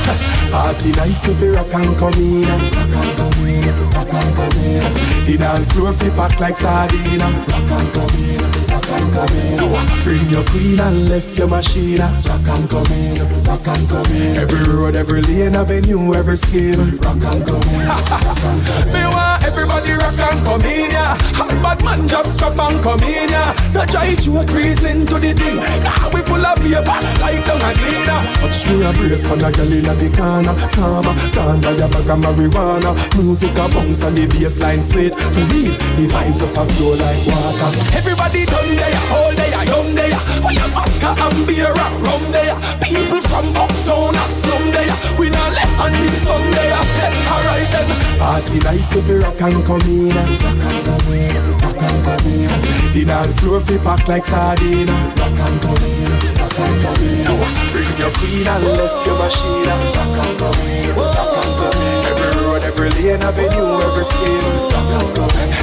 Party nice if you rock and come in, rock and come in, rock and come in. The dance floor fi pack like sardine, rock and come in, rock and come in. Bring your queen and left your machine, rock and come in, rock and come in. Every road, every lane, avenue, every scheme, rock and come in, rock and come in. Me want everybody rock and come in, yeah. Hot bad man job scrap and come in, yeah. No try to a reason to the thing. Now we full of paper, like down a cleaner. Watch me a brace for the girl in the corner. Calma, calm your bag of marijuana. Music a bounce and the bassline sweet. To read, the vibes just a flow like water. Everybody done there, all there, young there. We have vodka and beer and rum there. People from uptown and slum there. We not left until Sunday. Alright then. Party nice if you rock and come in. Rock and come in, rock and come in. The dance floor fi pack like sardine. Rock and come in, rock and come in. Bring your queen and left your machine. Rock and come in, rock and come in. Every road, every lane, avenue, every scheme. Rock and come in.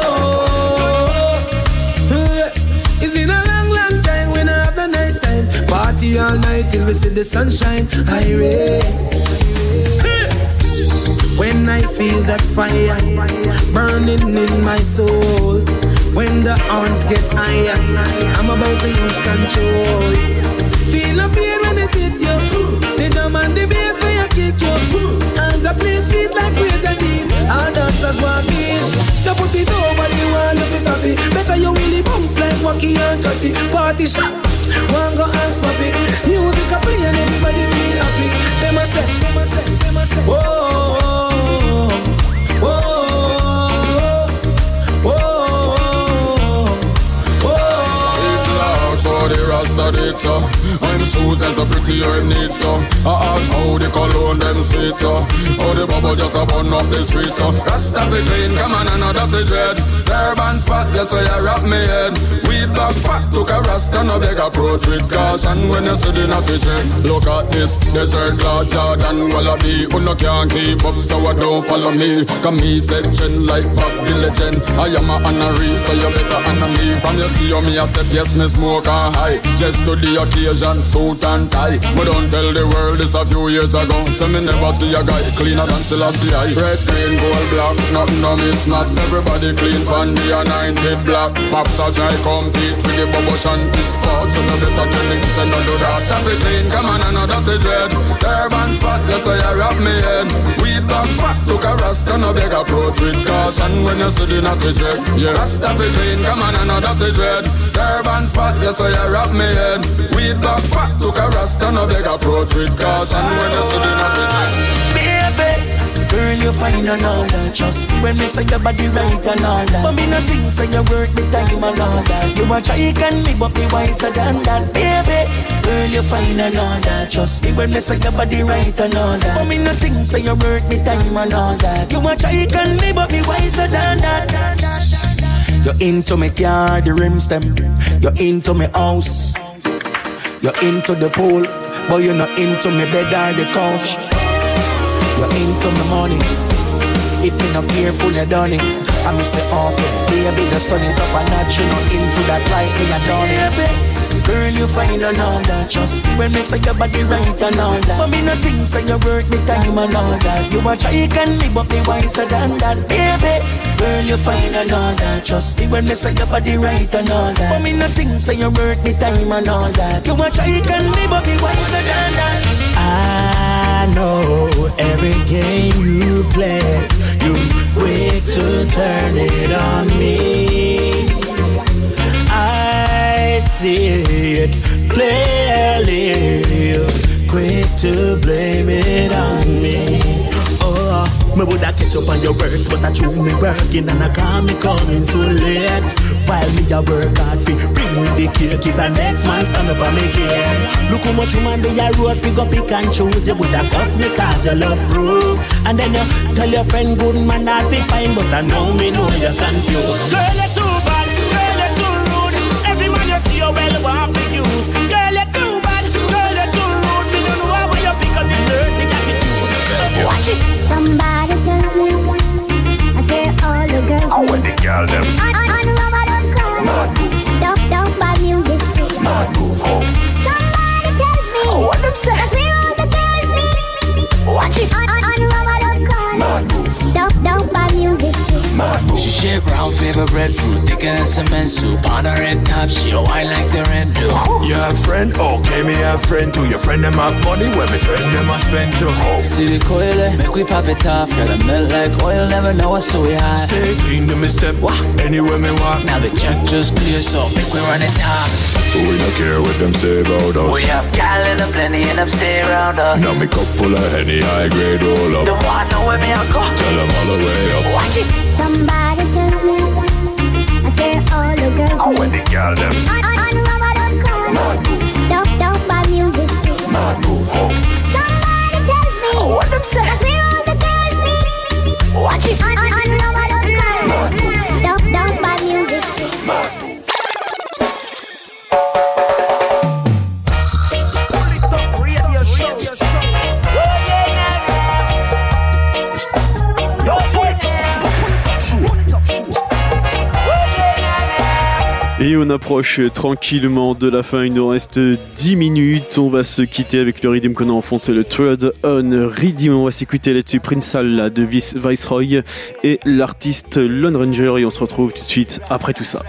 It's been a long, long time when I have a nice time. Party all night till we see the sunshine. Irate. When I feel that fire burning in my soul. When the horns get higher, I'm about to lose control. Feel the pain when it hit you. The drum and the bass when you kick you. And the place sweet like Grenadine. All dancers walk in. Don't put it over the wall if you stop it. Better you really bounce like Wacky and Cutty. Party shot, one go and stop it. Music a play and everybody feel happy. Them a say, them a say, them a say. Whoa, whoa, whoa. So the Rasta did so. When shoes and so pretty herb need so. I ask how the cologne them sweet so. How the bubble just a burn up the street so. Rasta fi clean, come on and not the dread. Turban spotless so you wrap me head. Weed back fat took a Rasta no beg approach with caution when you see the natty check. Look at this desert cloud Jordan wallaby. Who no can't keep up so I don't follow me. Come me section like Bob the legend. I am a honorary so you better honor me. From you see how me a step yes me smoke high, just to the occasion, suit and tie. But don't tell the world this a few years ago. So me never see a guy cleaner than Selassie. Red, green, gold, black, nothing no mismatch. Everybody clean from the anointed black. Pops a try compete with the bubble shanty sports. So no better tell him say no do that. Stuff it clean, come on and no dirty dread. Turban spotless so you wrap me head. Weed back fat took a Rasta no beg approach with caution when you see the natty check. Yeah, stuff it clean, come on and no dirty dread. Turban spotless so you wrap me head. Weed back fat took a Rasta no beg approach with caution when you see the natty check. Baby, girl you fine and all that. Trust me when me say your body right and all that. But me not think say you worth me time and all that. You a try can me but me wiser than that. Baby, girl you fine and all that. Trust me when me say your body right and all that. But me not think say you worth me time and all that. You a try can me but me wiser than that. You're into me car, the rims them. You're into me house. You're into the pool, but you're not into me bed or the couch. You're into me money. If me not careful, you're done it. I me say, okay, baby, just turn it up a notch. You're not into that life, me a done it. Baby, Girl, you fine and all that. Trust me when me say your body right and all that. But me no think so you worth me time and all that. You a try can me but me wiser than that, baby. Girl, you fine and all that. Trust me when me say your body right and all that. But me no think so you worth me time and all that. You a try can me but me wiser than that. I know every game you play, you quick to turn it on me. I see it clearly, you quick to blame it on me. Oh, me woulda catch up on your words, but I chew me working and I can't me coming too late. While me a work hard fi bring you the cake, is the next man stand up and make it. Look how much woman they a road fi go pick and choose. You woulda cuss me cause your love proof, and then you tell your friend good man not fi fine, but I know me know you're confused. Girl, you're too bad, girl, you're too rude. Every man you see you well want fi use. Girl, you're too bad, girl, you're too rude. You don't know how you pick up this dirty attitude. Watch it. Somebody tell me, I swear all the girls I want the girl them. On, on, on Ramadan call. Mad move. Don't, don't bad music. Mad move. Somebody tells me, I swear all the girls me. Watch it. On, on, on Ramadan call. Mad move. Don't, don't bad music. Mad move. She shape round, favorite breadfruit, thicker than cement soup. On her red top, she a wine like the red do. You have friend? Okay, me have friend too. Your friend them have money, when me friend them a spend too. See the coil, eh? Make we pop it off. Gotta melt like oil, never know what's so we hot. Stay clean to me step, what? Anywhere me walk. Now the check just clear, so make we run it top. We don't care what them say about us. We have gal in a plenty and them stay around us. Now me cup full of Henny, high grade roll up. Don't want know where me I go. Tell them all the way up. Watch it. Somebody tells me, I swear all the girls I want the girl them. On, on, on Ramadan call. Mad move. Don't, don't bad music. Mad move. Somebody tells me, I swear all the girls me. Watch it. On, on, on Ramadan call. Mad move. Don't, don't bad music. Mad move. Et on approche tranquillement de la fin, il nous reste dix minutes. On va se quitter avec le rythme qu'on a enfoncé, le Thread on Rhythm. On va s'écouter là-dessus Prince Al de Viceroy et l'artiste Lone Ranger. Et on se retrouve tout de suite après tout ça.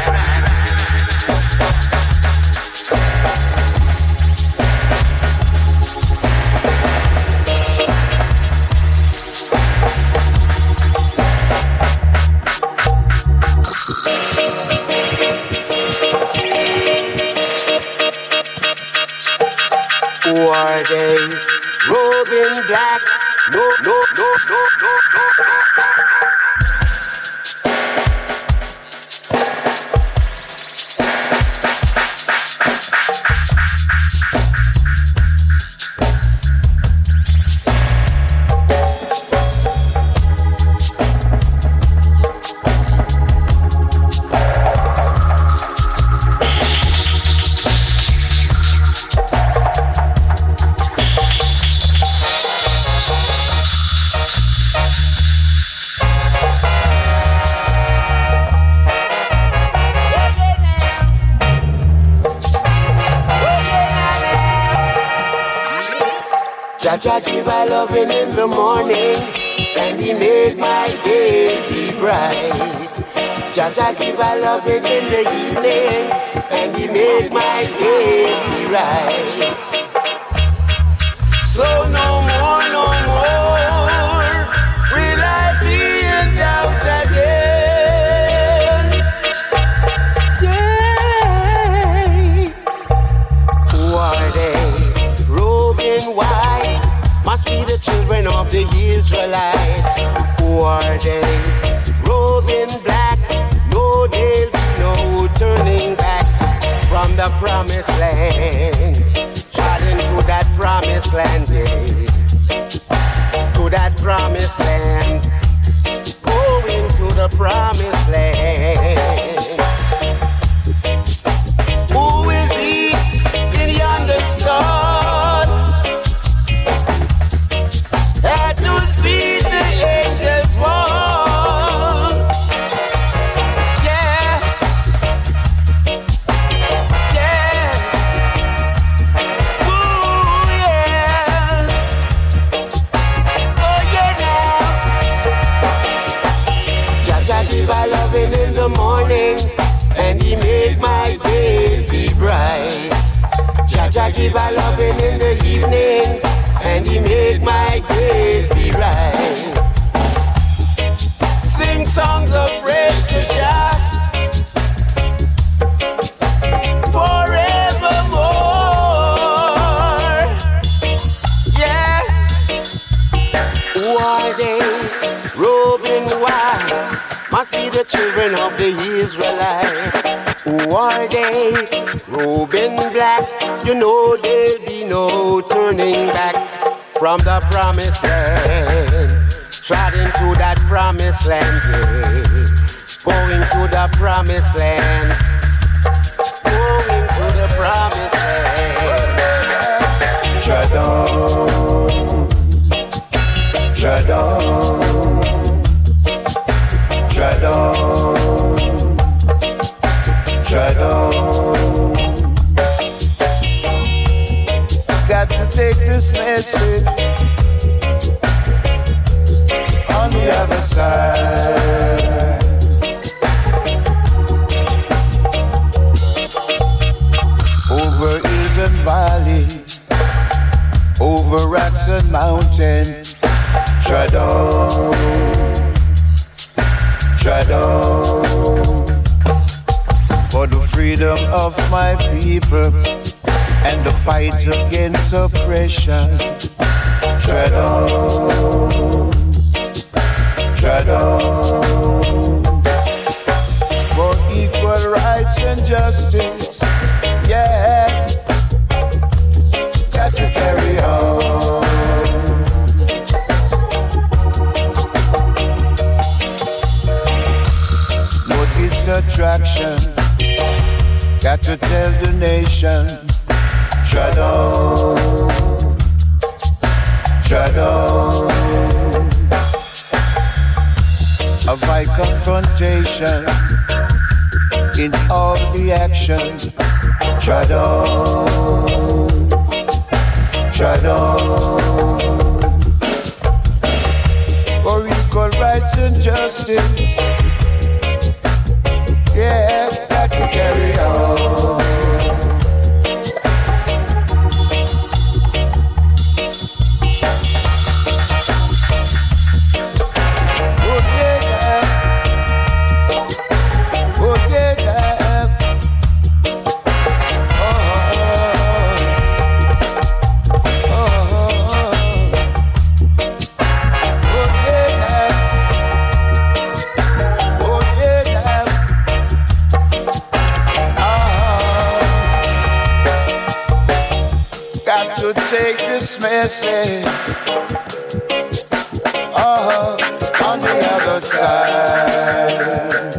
Who are they? Robed in black. No, no, no, no, no, no, no. Jaja give I loving in the morning, and he make my days be bright. Jaja give I loving in the evening, and he make my days be right. So no more, no more will I be in doubt again. Yeah. Who are they? Robed in white. Must be the children of the Israelites. Who are they? Robed in black. No, there'll be no turning back from the promised land. Traveling to that promised land, yeah. To that promised land. Going to the promised land. Who is he in yonder star? At whose feet the angels fall. Yeah, yeah, the children of the Israelites. Who are they? Reuben black. You know there'll be no turning back from the promised land. Trotting to that promised land, yeah. Going to the promised land. Going to the promised land. Tread on, tread on, tread on, tread on. Got to take this message on the other side. Over hills and valleys, over rocks and mountains, tread on, tread on, for the freedom of my people and the fight against oppression. Tread on, tread on, for equal rights and justice. Yeah, got to carry on. Notice attraction, got to tell the nation. Tread on, tread on. Avoid confrontation in all the actions. Tread on, tread on, for equal rights and justice. Yeah, got to carry on. Message uh, on the other side.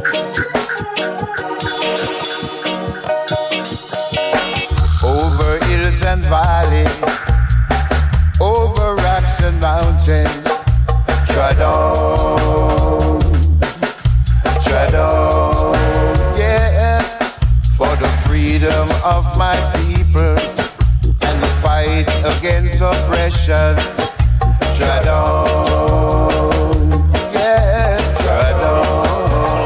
Over hills and valleys, over rocks and mountains, tread on, tread on, yes, for the freedom of my people. Fight against oppression. Tread on, yeah, tread on.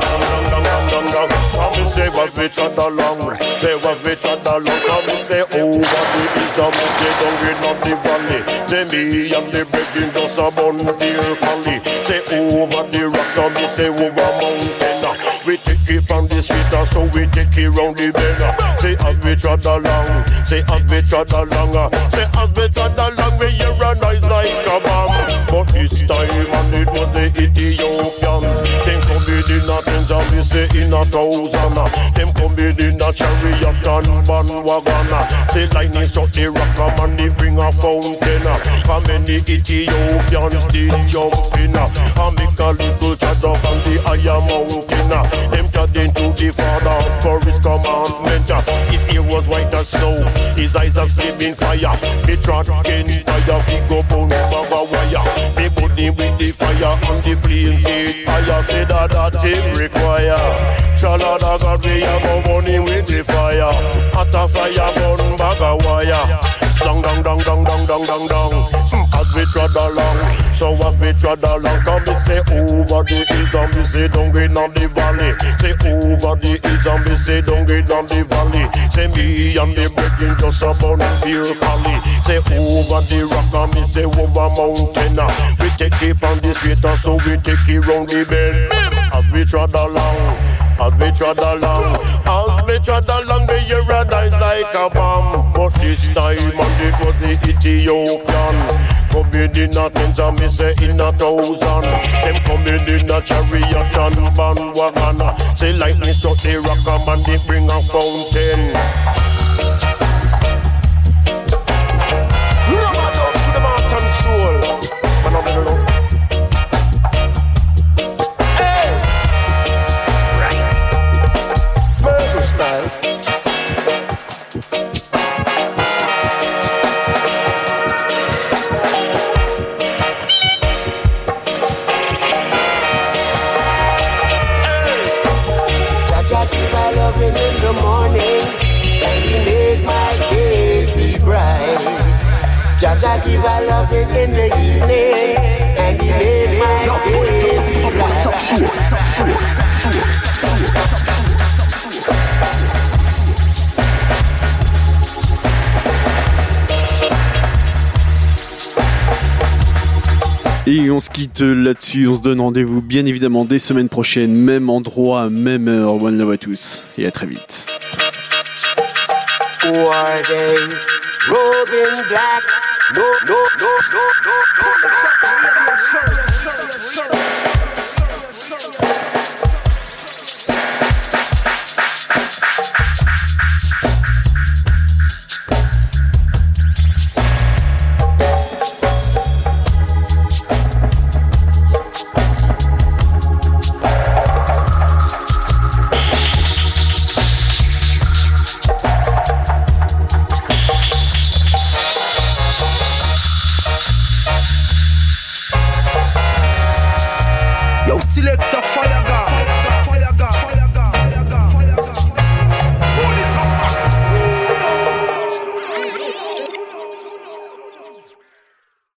Come and say what we tread along. Say what we tread along. Come and say over the Islam. Say down in the valley. Say me and the breaking just a bun dear Cali. Say over the rock. Come and say over mountain. We take it from the street, so we take it round the bend. Say as we tread along, say as we tread along, say as we tread along, we hear a noise like a bomb. But this time, and it was the Ethiopians. Them come in a tens and we say in a thousand. Them come in a chariot and bandwagon. Say lightning struck the rock and they bring a fountain. How many Ethiopians did jump in? And make a little chat up on the higher mountain. Them chatting to the father for his commandment. His ear was white as snow, his eyes have flaming fire. Me trot again fire, we go bone baba wire. Me put him with the fire and the flame gate higher. Say that that him require. Chalada God we a go burn him with the fire. Hot a fire burn baga wire. Dong dong dong dong dong dong dong dong. As we trod along, so as we trod along, come we say over the hills and we say down in the valley. Say over the hills and we say down in the valley. Say me and the breaking just a bun beer valley. Say over the rock and we say over mountain. We take it on the street and so we take it round the bend. As we trod along, as we trod along, as we trod along, the year a dies like a bomb. But this time and it was the Ethiopian. coming in a tens and me say in a thousand. Them coming in a chariot and bandwagon. Say lightning struck the rock and they bring a fountain. Rubber down to the mountain soul. Man, I'm gonna look. Hey! Right. Purple style. In the morning, and he make my days be bright. Jaja give a loving in the evening, and he make my days be bright. Top show, top show, top Et on se quitte là-dessus, on se donne rendez-vous bien évidemment des semaines prochaines, même endroit, même heure. One love à tous et à très vite. Who are they? Robin Black. No, no, no, no, no, no. Select